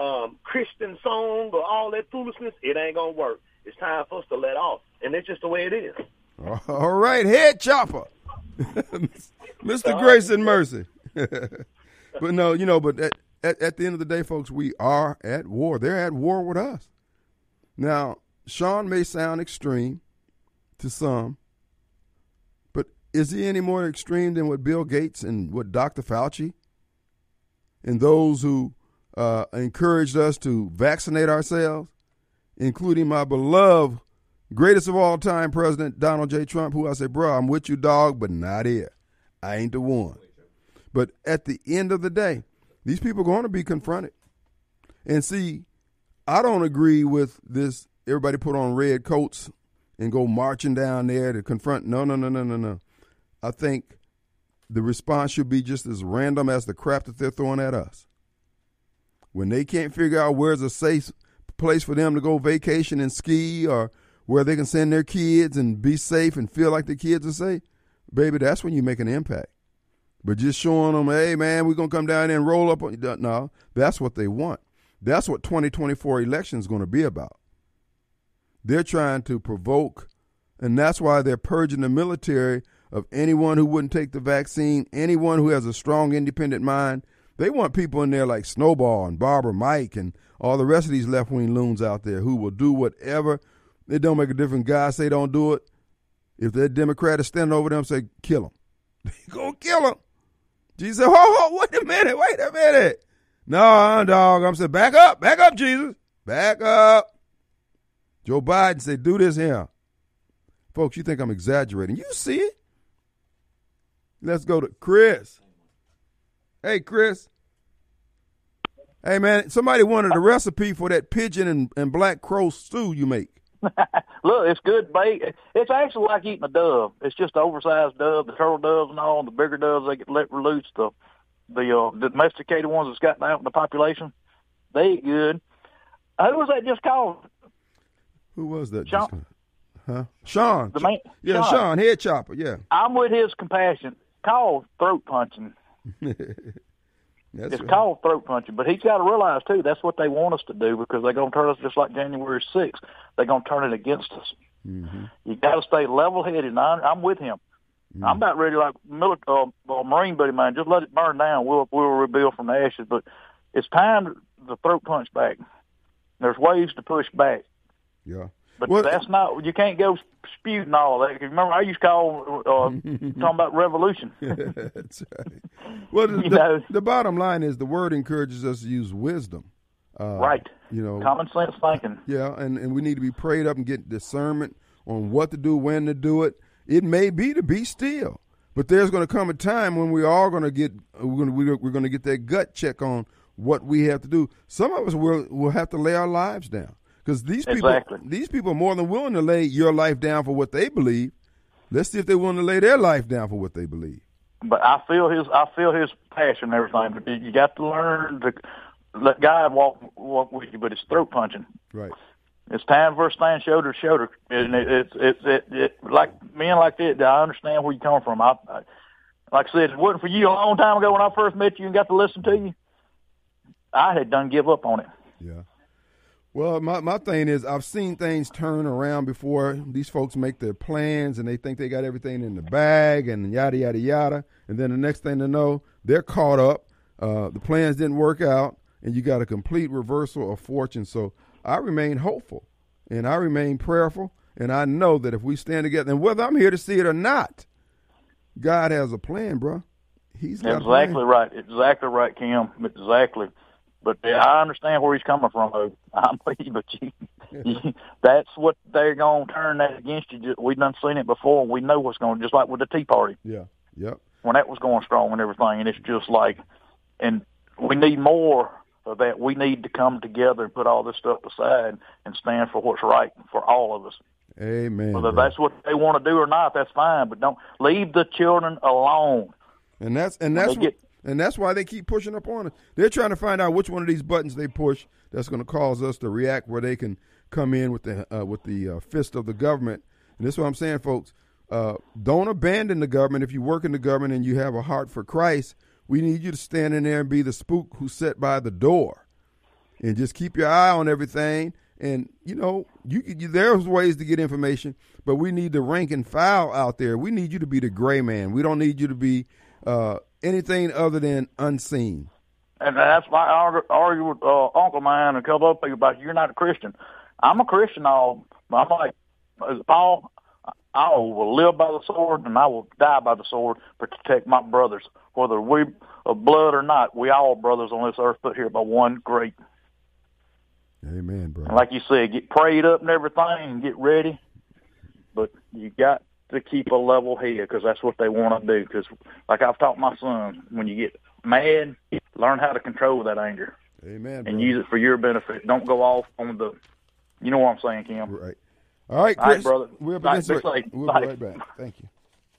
um, Christian song or all that foolishness, it ain't going to work. It's time for us to let off. And it's just the way it is. All right, head chopper. Mister Grace and Mercy. But no, you know, but at, at, at the end of the day, folks, we are at war. They're at war with us. Now, Sean may sound extreme to some, but is he any more extreme than what Bill Gates and what Doctor Fauci and those who uh, encouraged us to vaccinate ourselves, including my beloved, greatest of all time President Donald J. Trump, who I say, bro, I'm with you, dog, but not here. I ain't the one. But at the end of the day, these people are going to be confronted. And see, I don't agree with this, everybody put on red coats and go marching down there to confront. No, no, no, no, no, no. I think the response should be just as random as the crap that they're throwing at us. When they can't figure out where's a safe place for them to go vacation and ski, or where they can send their kids and be safe and feel like the kids are safe, baby, that's when you make an impact. But just showing them, hey, man, we're going to come down there and roll up on you. No, that's what they want. That's what twenty twenty-four election is going to be about. They're trying to provoke, and that's why they're purging the military of anyone who wouldn't take the vaccine, anyone who has a strong, independent mind. They want people in there like Snowball and Barbara Mike and all the rest of these left-wing loons out there who will do whatever. It don't make a difference. Guys say don't do it. If that Democrat is standing over them, say, kill him. They go kill him. Jesus said, ho, ho, wait a minute, wait a minute. No, dog. I'm saying, back up, back up, Jesus. Back up. Joe Biden said, do this here. Folks, you think I'm exaggerating. You see it. Let's go to Chris. Hey, Chris. Hey, man, somebody wanted a recipe for that pigeon and, and black crow stew you make. Look, it's good bait. It's actually like eating a dove. It's just the oversized dove, the turtle doves and all. The bigger doves, they get let loose. The the, uh, the domesticated ones that's gotten out in the population, they eat good. Who was that just called? Who was that? Sean. Just, huh? Sean. The man, yeah, Sean. Sean, head chopper, yeah. I'm with his compassion. Called throat punching. That's it's right. called throat punching, but he's got to realize, too, that's what they want us to do, because they're going to turn us just like January sixth. They're going to turn it against us. Mm-hmm. You got to stay level-headed, and I, I'm with him. Mm-hmm. I'm about ready, like military, uh, uh, Marine buddy man, just let it burn down. We'll we'll rebuild from the ashes, but it's time to throat punch back. There's ways to push back. Yeah. But well, that's not, you can't go spewing all that. Remember, I used to call, uh, talking about revolution. That's right. Well, the, you the, know, the bottom line is the word encourages us to use wisdom. Uh, right. You know, common sense thinking. Yeah, and, and we need to be prayed up and get discernment on what to do, when to do it. It may be to be still, but there's going to come a time when we are going to get, we're going to, we're going to get that gut check on what we have to do. Some of us will will have to lay our lives down. Because these people, exactly. these people are more than willing to lay your life down for what they believe. Let's see if they're willing to lay their life down for what they believe. But I feel his, I feel his passion and everything. But you got to learn to let God walk walk with you. But it's throat punching. Right. It's time for us to stand shoulder to shoulder. And it, it's it's it, it, like men like that. I understand where you come from. I, I like I said, if it wasn't for you a long time ago when I first met you and got to listen to you, I had done give up on it. Yeah. Well, my, my thing is I've seen things turn around before. These folks make their plans and they think they got everything in the bag and yada, yada, yada. And then the next thing they know, they're caught up. Uh, the plans didn't work out, and you got a complete reversal of fortune. So I remain hopeful, and I remain prayerful, and I know that if we stand together, and whether I'm here to see it or not, God has a plan, bro. He's got exactly a plan. right. Exactly right, Kim. Exactly. But yeah, I understand where he's coming from, though. I'm with you, but you, you, that's what they're going to turn that against you. We've done seen it before. We know what's going, just like with the Tea Party. Yeah, yep. When that was going strong and everything, and it's just like, and we need more of that. We need to come together and put all this stuff aside and stand for what's right for all of us. Amen. Whether bro. that's what they want to do or not, that's fine. But don't leave the children alone. And that's and that's what. Get, And that's why they keep pushing up on us. They're trying to find out which one of these buttons they push that's going to cause us to react, where they can come in with the uh, with the uh, fist of the government. And this is what I'm saying, folks. Uh, don't abandon the government. If you work in the government and you have a heart for Christ, we need you to stand in there and be the spook who's set by the door and just keep your eye on everything. And, you know, you, you there's ways to get information, but we need the rank and file out there. We need you to be the gray man. We don't need you to be uh, anything other than unseen. And that's why I argue, argue with uh, Uncle Man and a couple other people about you're not a Christian. I'm a Christian, all. I'm like, Paul, I will live by the sword and I will die by the sword to protect my brothers. Whether we of blood or not, we all brothers on this earth put here by one great. Amen, bro. And like you said, get prayed up and everything and get ready. But you got to keep a level head because that's what they want to do. Because like I've taught my son, when you get mad, learn how to control that anger. Amen, and bro. use it for your benefit. Don't go off on the, you know what I'm saying, Kim? Right. All right, Chris. All right, brother. We'll be, All right, right, we'll Bye. be right back. Thank you.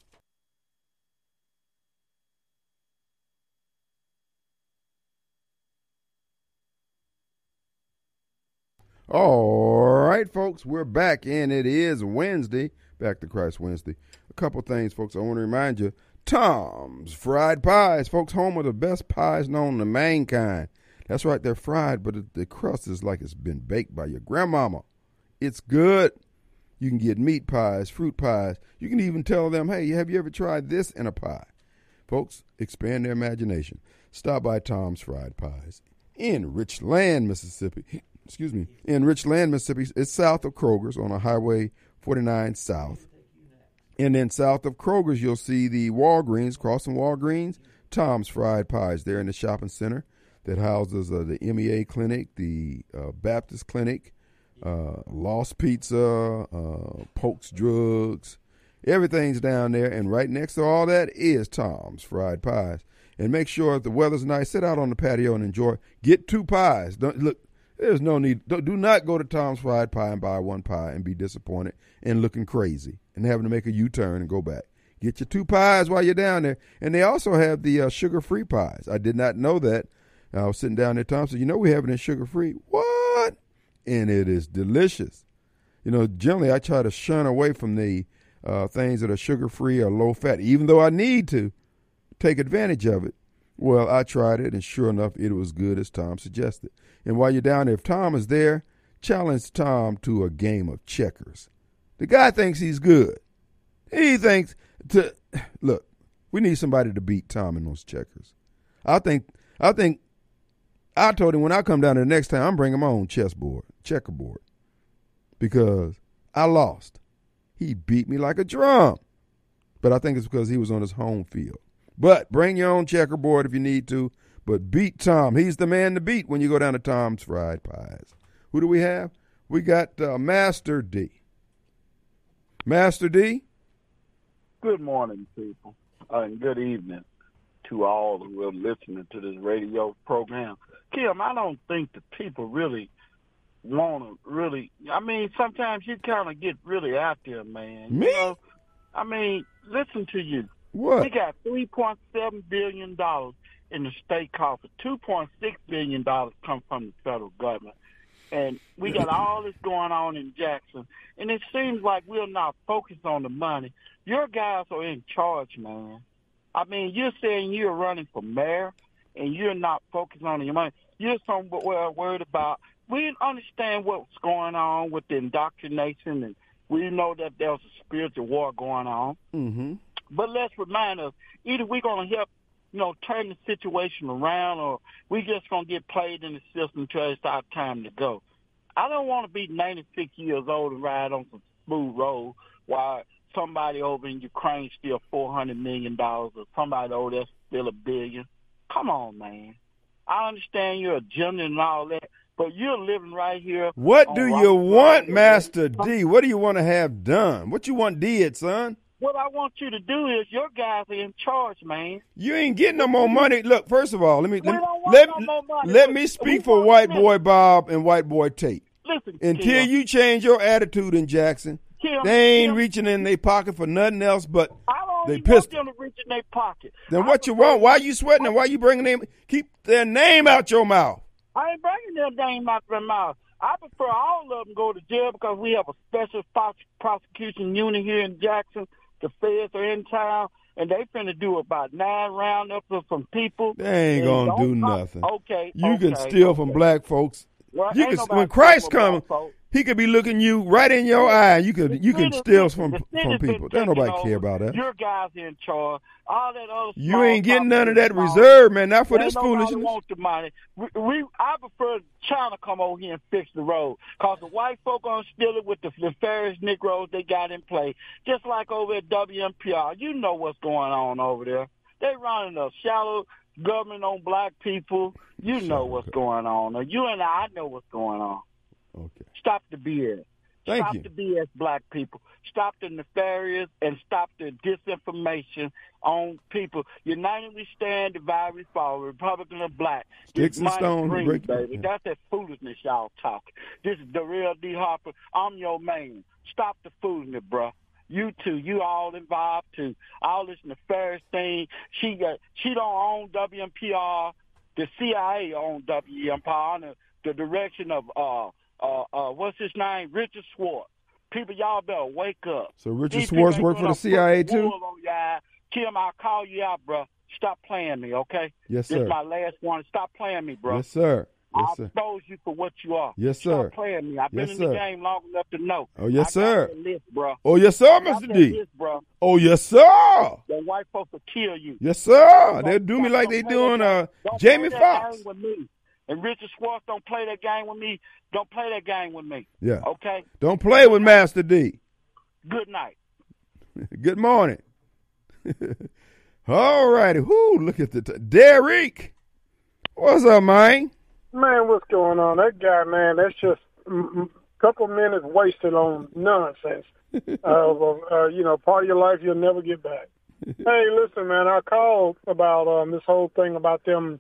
All right, folks, we're back, and it is Wednesday, Back to Christ Wednesday. A couple things, folks, I want to remind you. Tom's Fried Pies, folks, home of the best pies known to mankind. That's right, they're fried, but the crust is like it's been baked by your grandmama. It's good. You can get meat pies, fruit pies. You can even tell them, hey, have you ever tried this in a pie? Folks, expand their imagination. Stop by Tom's Fried Pies in Richland, Mississippi. Excuse me. In Richland, Mississippi. It's south of Kroger's on a Highway forty-nine South. And then south of Kroger's, you'll see the Walgreens, crossing Walgreens, Tom's Fried Pies there in the shopping center that houses uh, the M E A Clinic, the uh, Baptist Clinic, uh, Lost Pizza, uh, Polk's Drugs. Everything's down there. And right next to all that is Tom's Fried Pies. And make sure if the weather's nice, sit out on the patio and enjoy. Get two pies. Don't look. There's no need. Do not go to Tom's Fried Pie and buy one pie and be disappointed and looking crazy and having to make a U-turn and go back. Get your two pies while you're down there. And they also have the uh, sugar-free pies. I did not know that. I was sitting down there, Tom said, you know we have it in sugar-free. What? And it is delicious. You know, generally I try to shun away from the uh, things that are sugar-free or low-fat, even though I need to take advantage of it. Well, I tried it, and sure enough, it was good as Tom suggested. And while you're down there, if Tom is there, challenge Tom to a game of checkers. The guy thinks he's good. He thinks to look. We need somebody to beat Tom in those checkers. I think. I think. I told him when I come down there next time, I'm bringing my own chessboard, checkerboard, because I lost. He beat me like a drum, but I think it's because he was on his home field. But bring your own checkerboard if you need to. But beat Tom. He's the man to beat when you go down to Tom's Fried Pies. Who do we have? We got uh, Master D. Master D? Good morning, people, uh, and good evening to all who are listening to this radio program. Kim, I don't think the people really want to really, I mean, sometimes you kind of get really out there, man. Me? You know? I mean, listen to you. What? We got three point seven billion dollars in the state coffers. two point six billion dollars come from the federal government. And we got all this going on in Jackson. And it seems like we're not focused on the money. Your guys are in charge, man. I mean, you're saying you're running for mayor and you're not focused on your money. You're somewhere worried about, we understand what's going on with the indoctrination, and we know that there's a spiritual war going on. Mm-hmm. But let's remind us, either we're going to help, you know, turn the situation around, or we just going to get played in the system until it's our time to go. I don't want to be ninety-six years old and ride on some smooth road while somebody over in Ukraine steal four hundred million dollars, or somebody over there steal a billion. Come on, man. I understand your agenda and all that, but you're living right here. What do you want, Master D? D? What do you want to have done? What you want did, son? What I want you to do is, your guys are in charge, man. You ain't getting no more money. Look, first of all, let me let, don't let, want no more money. let me We speak for want White this. Boy Bob and White Boy Tate. Listen, Until Kim, you change your attitude in Jackson, Kim, they ain't Kim, reaching in their pocket for nothing else but I don't they even want pistol. them to reach in their pocket. Then I what you prefer- want? Why you sweating and why you bringing them? Keep their name out your mouth. I ain't bringing their name out their mouth. I prefer all of them go to jail because we have a special pros- prosecution unit here in Jackson. The feds are in town, and they finna do about nine roundups of some people. They ain't And gonna don't do talk- nothing. Okay, You okay, can steal okay. from black folks Well, you ain't could, nobody when Christ talking comes, about folks. he could be looking you right in your eye. You could The you can city- steal from the from city's been people. Don't taking nobody care over. about that. Your guys in charge. All that other You small ain't getting none of that small- reserve, man. Not for Ain't this nobody foolishness. want the money. We, we, I prefer China come over here and fix the road, cause the white folk gonna steal it with the nefarious Negroes they got in play. Just like over at W M P R, you know what's going on over there. They running a shallow government on black people. You know what's going on. Now, you and I know what's going on. Okay. Stop the B S. Thank stop you. the B S, black people. Stop the nefarious and stop the disinformation on people. United we stand, divided we fall. Republican or black. Sticks This and money stones green, break- baby. yeah. That's that foolishness y'all talking. This is the real D. Harper. I'm your man. Stop the foolishness, bruh. You too. You all involved too. All this nefarious thing. She got. She don't own W M P R. The C I A own W M P R under the direction of uh uh uh what's his name, Richard Schwartz. People, y'all better wake up. So Richard These Schwartz people worked ain't for the gonna C I A put too? wool on your eye. Kim, I'll call you out, bro. Stop playing me, okay? Yes, This sir. is my last one. Stop playing me, bro. Yes, sir. Yes, I'll sir. expose you for what you are. Yes, sir. Stop playing me. I've been Yes, in sir. the game long enough to know. Oh, yes, I sir. got that list, bro. Oh, yes, sir, Got Mister that D. list, bro. Oh, yes, sir. The white folks will kill you. Yes, sir. Don't- They'll do me don't- like don't they play doing that uh game. Don't Jamie play that Foxx. game with me. And Richard Schwartz don't play that game with me. Don't play that game with me. Yeah. Okay? Don't play with Master D. Good night. Good morning. All righty. Whoo, look at the t- Derek. What's up, man? Man, what's going on? That guy, man, that's just a couple minutes wasted on nonsense. uh, uh, you know, part of your life you'll never get back. Hey, listen, man, I called about um, this whole thing about them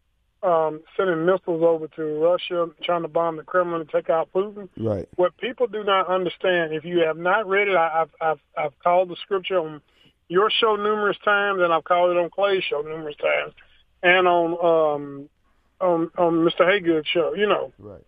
um, sending missiles over to Russia, trying to bomb the Kremlin and take out Putin. Right. What people do not understand, if you have not read it, I, I've, I've, I've called the scripture on your show numerous times, and I've called it on Clay's show numerous times, and on um, on, on Mister Haygood's show, you know. Right.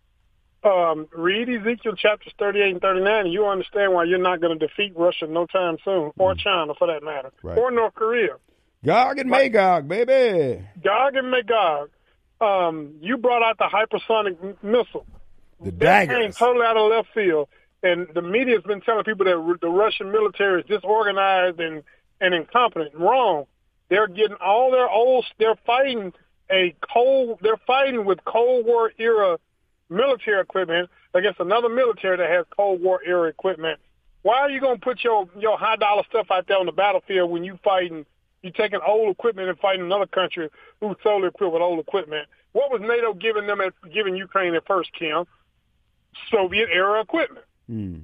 Um, read Ezekiel chapters thirty-eight and thirty-nine, and you understand why you're not going to defeat Russia no time soon, or China for that matter, Right. or North Korea. Gog and Magog, baby. Gog and Magog. Um, you brought out the hypersonic m- missile. The That came daggers. totally out of left field, and the media's been telling people that r- the Russian military is disorganized and, and incompetent. Wrong. They're getting all their old. They're fighting a cold. They're fighting with Cold War era military equipment against another military that has Cold War era equipment. Why are you going to put your your high dollar stuff out there on the battlefield when you fighting? You taking old equipment and fighting another country who's solely equipped with old equipment. What was NATO giving them at giving Ukraine at first, Kim? Soviet era equipment. Hmm.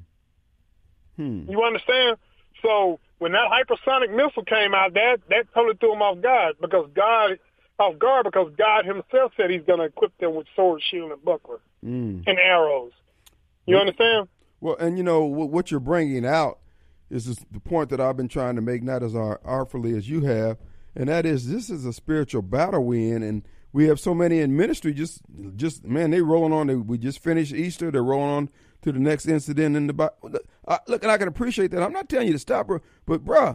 Hmm. You understand? So when that hypersonic missile came out, that that totally threw them off guard because God off guard because God Himself said He's going to equip them with sword, shield, and buckler Hmm. and arrows. You understand? Well, and you know what, what you're bringing out is just the point that I've been trying to make, not as ar- artfully as you have, and that is this is a spiritual battle we in, and we have so many in ministry. Just, just man, they rolling on. They, we just finished Easter. They're rolling on to the next incident in the Bible. Uh, look, and I can appreciate that. I'm not telling you to stop, bro, but bruh,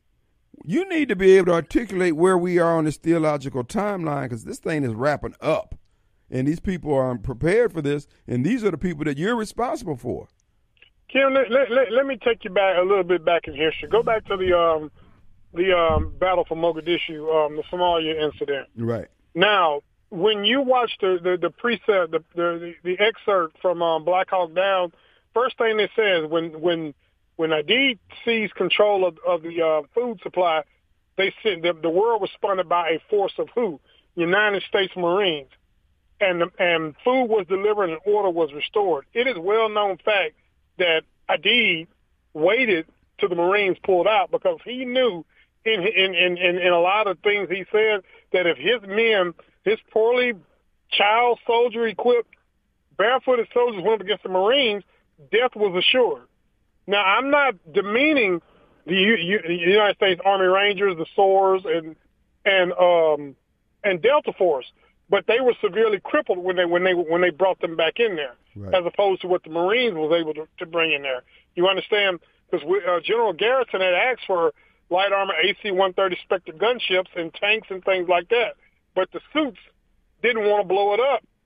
you need to be able to articulate where we are on this theological timeline because this thing is wrapping up, and these people are prepared for this, and these are the people that you're responsible for. Kim, let, let, let, let me take you back a little bit back in history. Go back to the um, the um, battle for Mogadishu, um, the Somalia incident. Right. Now, when you watch the the, the preset, the, the the excerpt from um, Black Hawk Down, first thing it says when when when Hadid seized control of, of the uh, food supply, they said the, the world was funded by a force of who? United States Marines, and the, and food was delivered and order was restored. It is well known fact that Hadid waited till the Marines pulled out because he knew in in, in, in in a lot of things he said that if his men, his poorly child soldier equipped barefooted soldiers went up against the Marines, death was assured. Now, I'm not demeaning the, U, U, the United States Army Rangers, the S O A Rs, and and um and Delta Force, but they were severely crippled when they when they when they brought them back in there, Right. as opposed to what the Marines was able to, to bring in there. You understand? Because uh, General Garrison had asked for light armor A C one thirty Spectre gunships and tanks and things like that, but the suits didn't want to blow it up.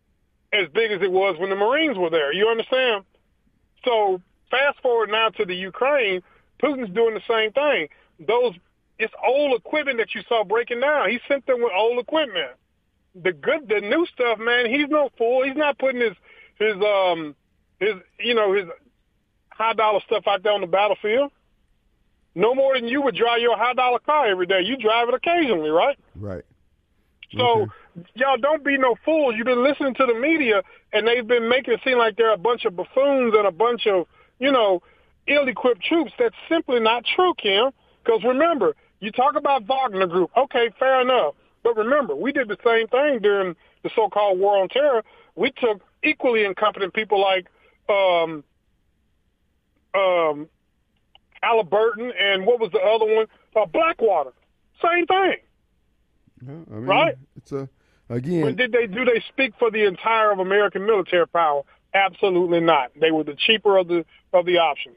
as big as it was when the Marines were there. You understand? So fast forward now to the Ukraine, Putin's doing the same thing. Those it's old equipment that you saw breaking down. He sent them with old equipment. The good, the new stuff, man. He's no fool. He's not putting his his um his you know his high dollar stuff out there on the battlefield. No more than you would drive your high dollar car every day. You drive it occasionally, right? Right. So okay. y'all don't be no fools. You've been listening to the media, and they've been making it seem like they're a bunch of buffoons and a bunch of, you know, ill-equipped troops. That's simply not true, Kim. Because remember, you talk about Wagner Group. Okay, fair enough. But remember, we did the same thing during the so-called War on Terror. We took equally incompetent people like um, um, Halliburton and what was the other one? Uh, Blackwater. Same thing. Yeah, I mean, right? It's a again. But did they do they speak for the entire of American military power? Absolutely not. They were the cheaper of the of the options.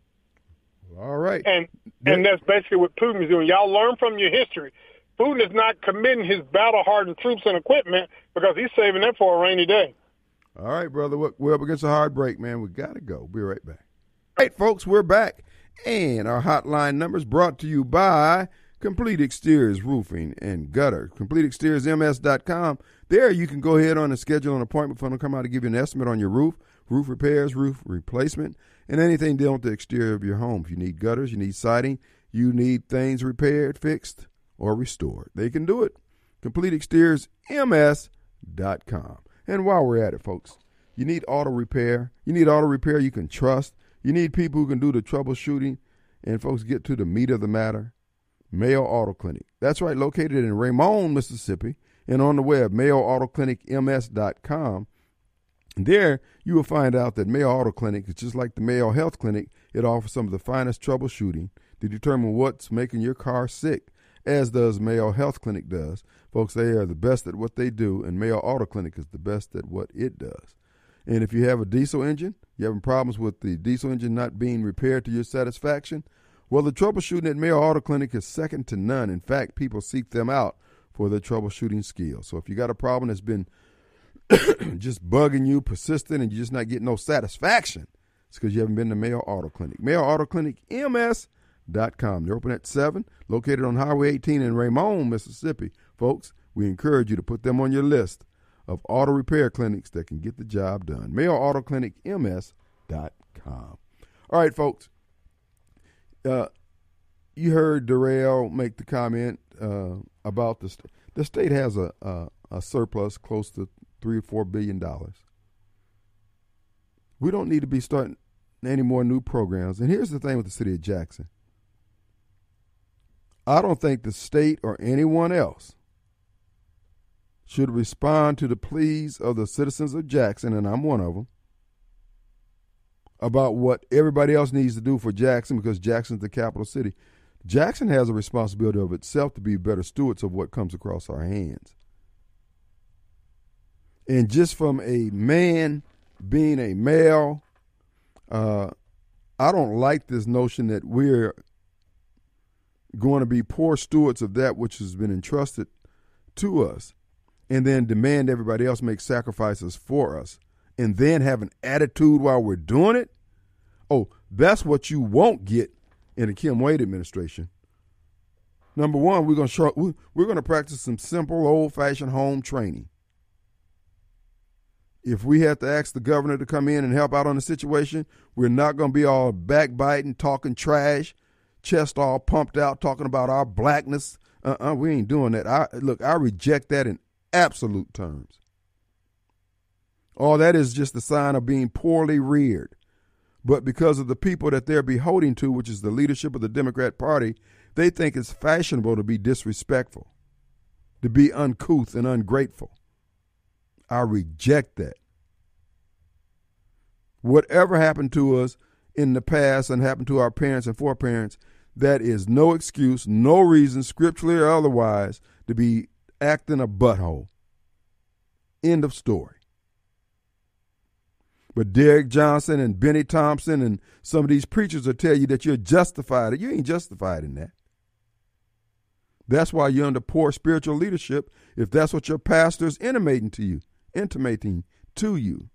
All right. And and that's basically what Putin is doing. Y'all learn from your history. Putin is not committing his battle-hardened troops and equipment because he's saving them for a rainy day. All right, brother. We're up against a hard break, man. We got to go. Be right back. All right, folks, we're back. And our hotline numbers brought to you by Complete Exteriors Roofing and Gutter. complete exteriors m s dot com. There you can go ahead on and schedule an appointment for them to come out to give you an estimate on your roof, roof repairs, roof replacement, and anything dealing with the exterior of your home. If you need gutters, you need siding, you need things repaired, fixed, or restored, they can do it. complete exteriors m s dot com. And while we're at it, folks, you need auto repair. You need auto repair you can trust. You need people who can do the troubleshooting and, folks, get to the meat of the matter. Mayo Auto Clinic. That's right, located in Raymond, Mississippi, and on the web, mayo auto clinic m s dot com. There, you will find out that Mayo Auto Clinic is just like the Mayo Health Clinic. It offers some of the finest troubleshooting to determine what's making your car sick, as does Mayo Health Clinic does. Folks, they are the best at what they do, and Mayo Auto Clinic is the best at what it does. And if you have a diesel engine, you're having problems with the diesel engine not being repaired to your satisfaction, well, the troubleshooting at Mayo Auto Clinic is second to none. In fact, people seek them out for their troubleshooting skills. So if you got a problem that's been just bugging you, persistent, and you're just not getting no satisfaction, it's because you haven't been to Mayo Auto Clinic. Mayo Auto Clinic M S dot com. They're open at seven, located on Highway eighteen in Raymond, Mississippi. Folks, we encourage you to put them on your list of auto repair clinics that can get the job done. Mayo Auto Clinic M S dot com. All right, folks. Uh, you heard Darrell make the comment uh, about the state. The state has a, a a surplus close to three or four billion dollars. We don't need to be starting any more new programs. And here's the thing with the city of Jackson. I don't think the state or anyone else should respond to the pleas of the citizens of Jackson, and I'm one of them, about what everybody else needs to do for Jackson because Jackson's the capital city. Jackson has a responsibility of itself to be better stewards of what comes across our hands. And just from a man being a male, uh, I don't like this notion that we're going to be poor stewards of that which has been entrusted to us and then demand everybody else make sacrifices for us and then have an attitude while we're doing it. Oh, that's what you won't get in the Kim Wade administration. Number one, we're going to show, we're going to practice some simple, old-fashioned home training. If we have to ask the governor to come in and help out on the situation, we're not going to be all backbiting, talking trash, chest all pumped out, talking about our blackness. Uh-uh, we ain't doing that. I, look, I reject that in absolute terms. All that is just a sign of being poorly reared. But because of the people that they're beholden to, which is the leadership of the Democrat Party, they think it's fashionable to be disrespectful, to be uncouth and ungrateful. I reject that. Whatever happened to us in the past and happened to our parents and foreparents, that is no excuse, no reason, scripturally or otherwise, to be acting a butthole. End of story. But Derek Johnson and Benny Thompson and some of these preachers will tell you that you're justified. You ain't justified in that. That's why you're under poor spiritual leadership, if that's what your pastor is intimating to you, intimating to you.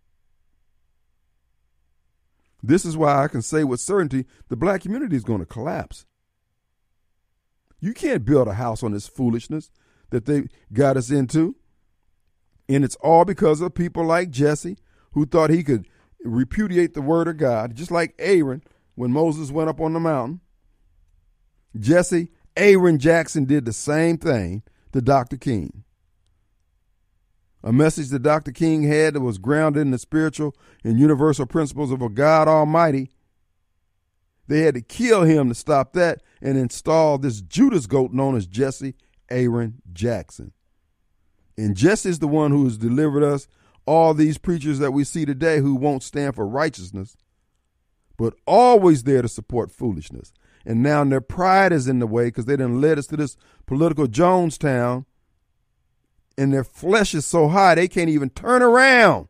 This is why I can say with certainty the black community is going to collapse. You can't build a house on this foolishness that they got us into. And it's all because of people like Jesse, who thought he could repudiate the word of God, just like Aaron when Moses went up on the mountain. Jesse, Aaron Jackson did the same thing to Doctor King. A message that Doctor King had that was grounded in the spiritual and universal principles of a God Almighty. They had to kill him to stop that and install this Judas goat known as Jesse Aaron Jackson. And Jesse is the one who has delivered us all these preachers that we see today who won't stand for righteousness, but always there to support foolishness. And now their pride is in the way because they done led us to this political Jonestown, and their flesh is so high they can't even turn around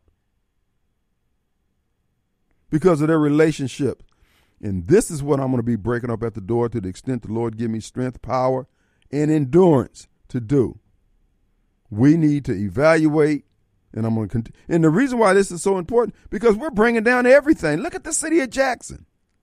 because of their relationship. And this is what I'm going to be breaking up at the door to the extent the Lord give me strength, power, and endurance to do. We need to evaluate, and I'm going to continue. And the reason why this is so important, because we're bringing down everything. Look at the city of Jackson.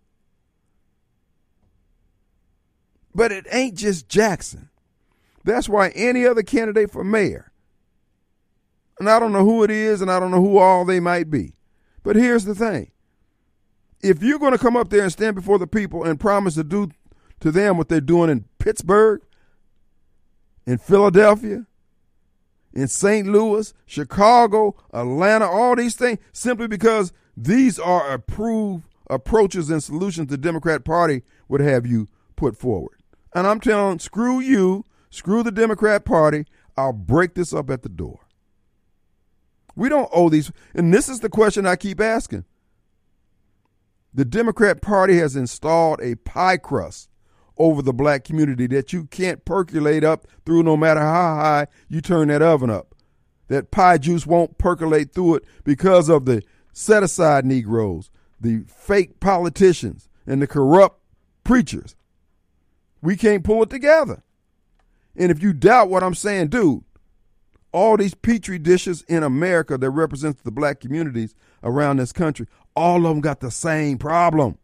But it ain't just Jackson. That's why any other candidate for mayor, and I don't know who it is, and I don't know who all they might be, but here's the thing. If you're going to come up there and stand before the people and promise to do to them what they're doing in Pittsburgh, in Philadelphia, in Saint Louis, Chicago, Atlanta, all these things, simply because these are approved approaches and solutions the Democrat Party would have you put forward. And I'm telling, screw you, screw the Democrat Party, I'll break this up at the door. We don't owe these, and this is the question I keep asking. The Democrat Party has installed a pie crust over the black community that you can't percolate up through no matter how high you turn that oven up. That pie juice won't percolate through it because of the set-aside Negroes, the fake politicians, and the corrupt preachers. We can't pull it together. And if you doubt what I'm saying, dude, all these petri dishes in America that represents the black communities around this country, all of them got the same problem.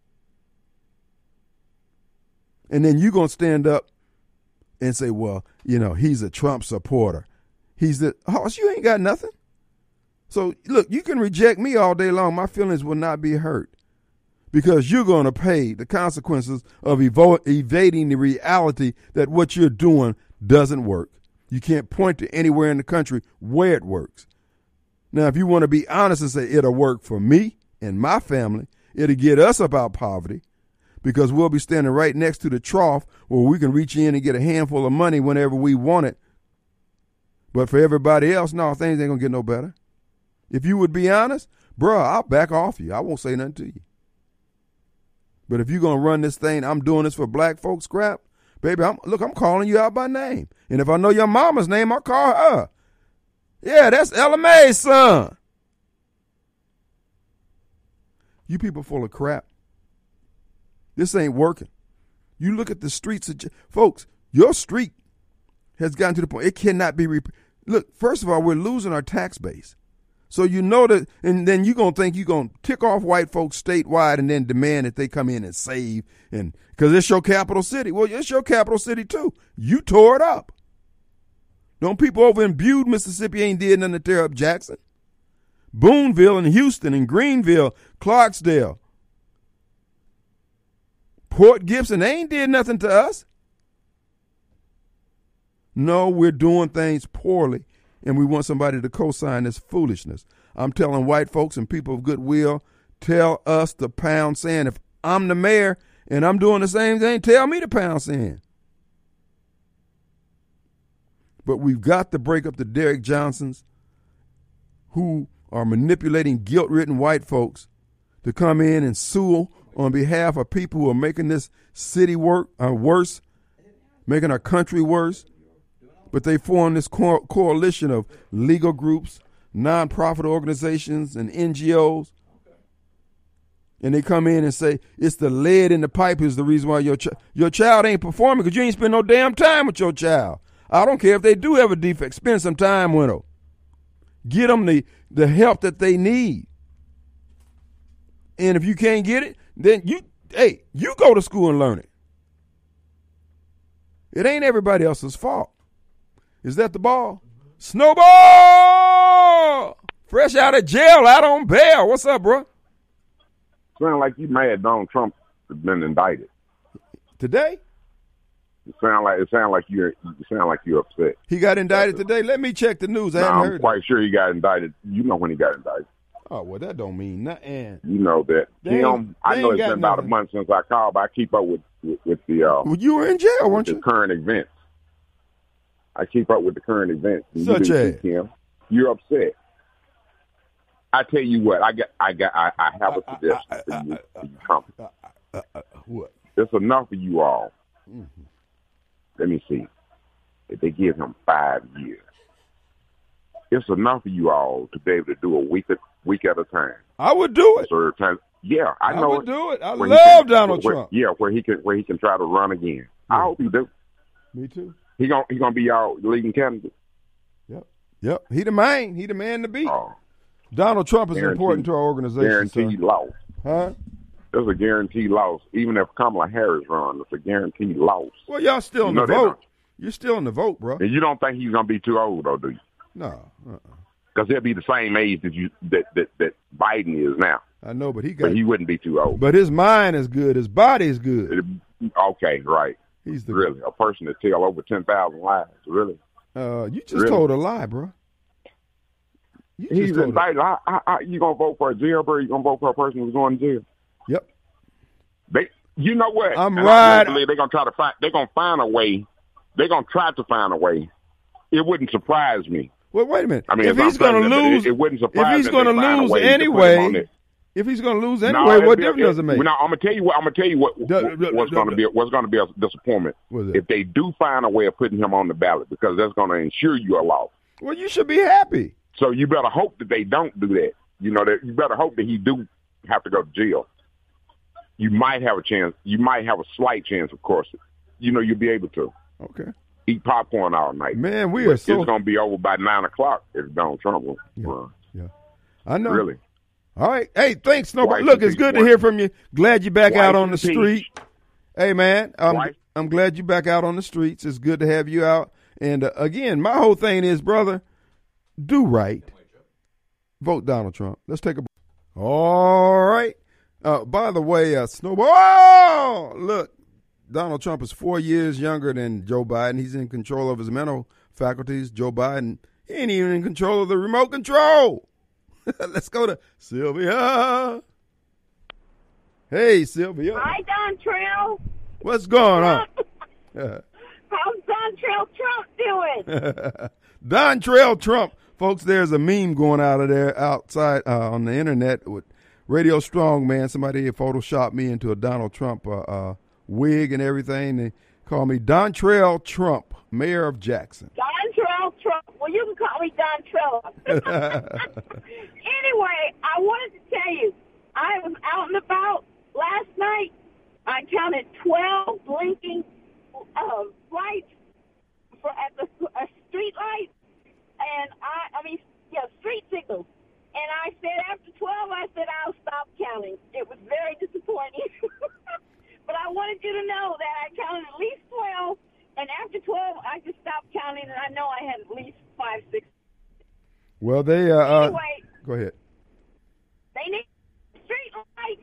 And then you're going to stand up and say, well, you know, he's a Trump supporter. He's the, oh, you ain't got nothing. So, look, you can reject me all day long. My feelings will not be hurt because you're going to pay the consequences of evo- evading the reality that what you're doing doesn't work. You can't point to anywhere in the country where it works. Now, if you want to be honest and say it'll work for me and my family, it'll get us up out of poverty, because we'll be standing right next to the trough where we can reach in and get a handful of money whenever we want it. But for everybody else, no, things ain't going to get no better. If you would be honest, bro, I'll back off you. I won't say nothing to you. But if you're going to run this thing, I'm doing this for black folks crap, baby, I'm, look, I'm calling you out by name. And if I know your mama's name, I'll call her. Yeah, that's Ella Mae's son. You people full of crap. This ain't working. You look at the streets of, folks, your street has gotten to the point, it cannot be, rep- look, first of all, we're losing our tax base. So you know that, and then you're going to think you're going to tick off white folks statewide and then demand that they come in and save, and because it's your capital city. Well, it's your capital city too. You tore it up. Don't people over in Bude, Mississippi ain't did nothing to tear up Jackson. Boonville and Houston and Greenville, Clarksdale, Port Gibson, they ain't did nothing to us. No, we're doing things poorly, and we want somebody to co-sign this foolishness. I'm telling white folks and people of goodwill, tell us to pound sand. If I'm the mayor and I'm doing the same thing, tell me to pound sand. But we've got to break up the Derrick Johnsons who are manipulating guilt-ridden white folks to come in and sue on behalf of people who are making this city work uh, worse, making our country worse. But they form this co- coalition of legal groups, nonprofit organizations, and N G Os. And they come in and say, it's the lead in the pipe is the reason why your, ch- your child ain't performing, because you ain't spend no damn time with your child. I don't care if they do have a defect. Spend some time with them. Get them the, the help that they need. And if you can't get it, then you, hey, you go to school and learn it. It ain't everybody else's fault. Is that the ball? Snowball! Fresh out of jail, out on bail. What's up, bro? Sound like you mad Donald Trump has been indicted. Today? It sound like it sound like you're you sound like you're upset. He got indicted today? Let me check the news. I no, haven't I'm heard quite it. sure he got indicted. You know when he got indicted. Oh, well, that don't mean nothing. You know that. They Him, ain't- I they know ain't it's got been about nothing. a month since I called, but I keep up with with, with the uh, Well, you were in jail, with weren't the you? current events. I keep up with the current events. And you Such do as? too, Kim. You're upset. I tell you what, I got, I got, I, I have a suggestion for you, for you Trump. Uh, uh, uh, what? It's enough for you all. Mm-hmm. Let me see. If they give him five years, it's enough for you all to be able to do a week at week at a time. I would do it. So time, yeah, I I know would it. do it. I Where he love can- Donald where- Trump. Yeah, where he can where he can try to run again. I hope he do. Me too. He gonna he gonna be y'all leading candidate. Yep. Yep. He the man. He the man to beat. Oh, Donald Trump is Guaranteed- important to our organization. guaranteed Sir. loss. Huh? There's a guaranteed loss. Even if Kamala Harris runs, it's a guaranteed loss. Well, y'all still You in know the they vote. don't. You're still in the vote, bro. And you don't think he's gonna be too old, though, do you? No. Uh-uh. Because he'll be the same age that you that that, that Biden is now. I know, but he got. But he wouldn't be too old. But his mind is good. His body is good. It- okay, right. He's the. Really, a person that tell over ten thousand lies. Really, Uh, you just Really? told a lie, bro. You just he's told a- indicted. I, I, I, you gonna vote for a jailbird? You gonna vote for a person who's going to jail? Yep. They, you know what? I'm And right. I believe they're gonna try to find. They're gonna find a way. They're gonna try to find a way. It wouldn't surprise me. Well, wait a minute. I mean, if if he's I'm going to president, but lose, it- it wouldn't if surprise he's me if going to they find a lose way to put him on anyway, it. if he's going to lose No, anyway, it'd what be- difference does it make? Now, I'm gonna tell you what. I'm gonna tell you what. Duh, what- duh, what's duh, gonna duh. be? What's gonna be a disappointment What's it? if they do find a way of putting him on the ballot, because that's gonna ensure you a loss. Well, you should be happy. So you better hope that they don't do that. You know that you better hope that he do have to go to jail. You might have a chance. You might have a slight chance, of course. You know, you'll be able to Okay. eat popcorn all night. Man, we But are so. it's going to be over by nine o'clock if Donald Trump will run. Yeah. I know. Really. All right. Hey, thanks, Snowball. Twice Look, in it's peace, good to once. hear from you. Glad you're back Twice out on in the peace. street. Hey, man, I'm, Twice. I'm glad you're back out on the streets. It's good to have you out. And uh, again, my whole thing is, brother, do right. Vote Donald Trump. Let's take a break. All right. Uh, by the way, uh, Snowball, oh, look, Donald Trump is four years younger than Joe Biden. He's in control of his mental faculties. Joe Biden, he ain't even in control of the remote control. Let's go to Sylvia. Hey, Sylvia. Hi, Don Trail. What's going on? How's Don Trail Trump doing? Don Trail Trump. Folks, there's a meme going out of there outside uh, on the internet with Radio Strong, man. Somebody had photoshopped me into a Donald Trump uh, uh, wig and everything. They call me Don Trail Trump, mayor of Jackson. Don Trail Trump. Well, you can call me Don Trail. Anyway, I wanted to tell you, I was out and about last night. I counted twelve blinking uh, lights for at the uh, street lights, and I, I mean, yeah, street signals. And I said after twelve, I said I'll stop counting. It was very disappointing. But I wanted you to know that I counted at least twelve, and after twelve, I just stopped counting, and I know I had at least five, six. Well, they, uh, uh, Anyway, go ahead. they need street lights.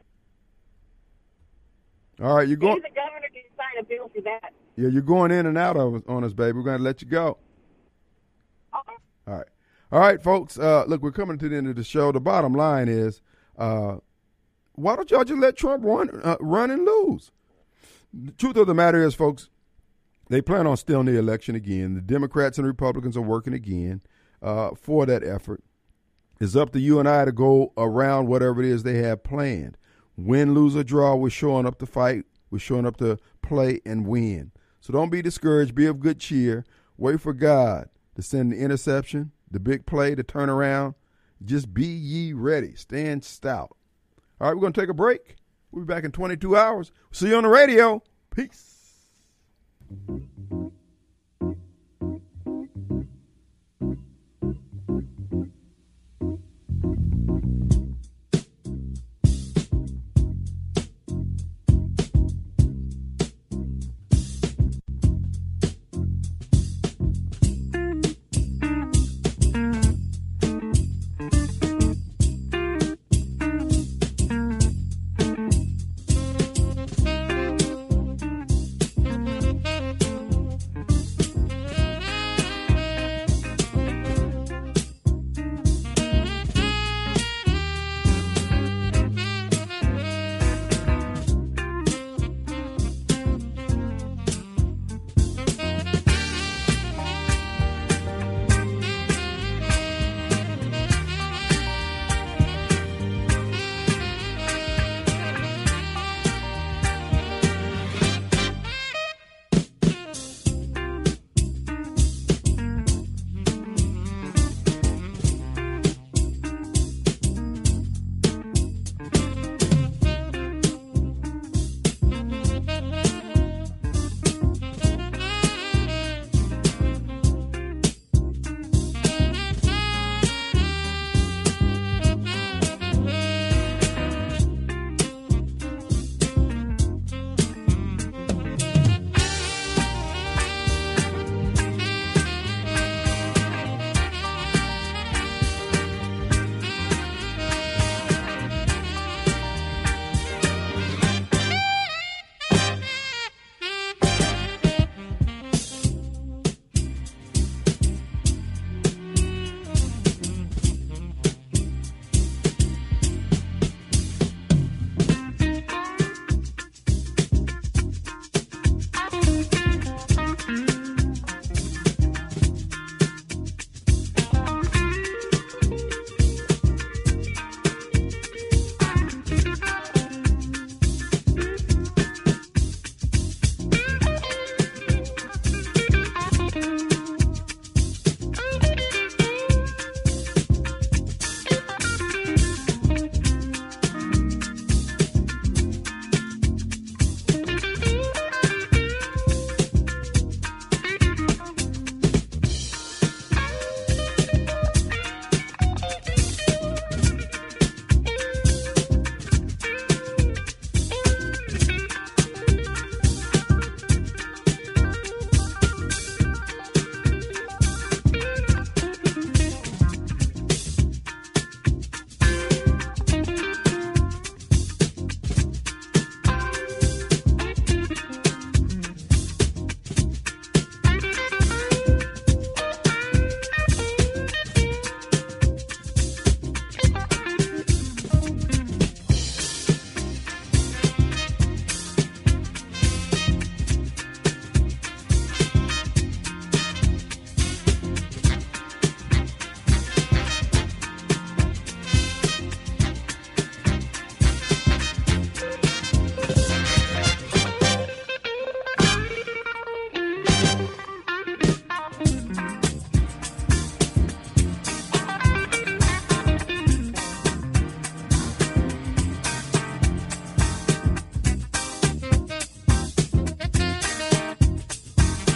All right, you're going. Maybe the governor can sign a bill for that. Yeah, you're going in and out of on us, baby. We're going to let you go. Uh, All right. All right, folks. Uh, look, we're coming to the end of the show. The bottom line is, uh, why don't y'all just let Trump run, uh, run and lose? The truth of the matter is, folks, they plan on stealing the election again. The Democrats and Republicans are working again uh, for that effort. It's up to you and I to go around whatever it is they have planned. Win, lose, or draw, we're showing up to fight. We're showing up to play and win. So don't be discouraged. Be of good cheer. Wait for God to send the interception, the big play, to turn around. Just be ye ready. Stand stout. All right, we're going to take a break. We'll be back in twenty-two hours. See you on the radio. Peace.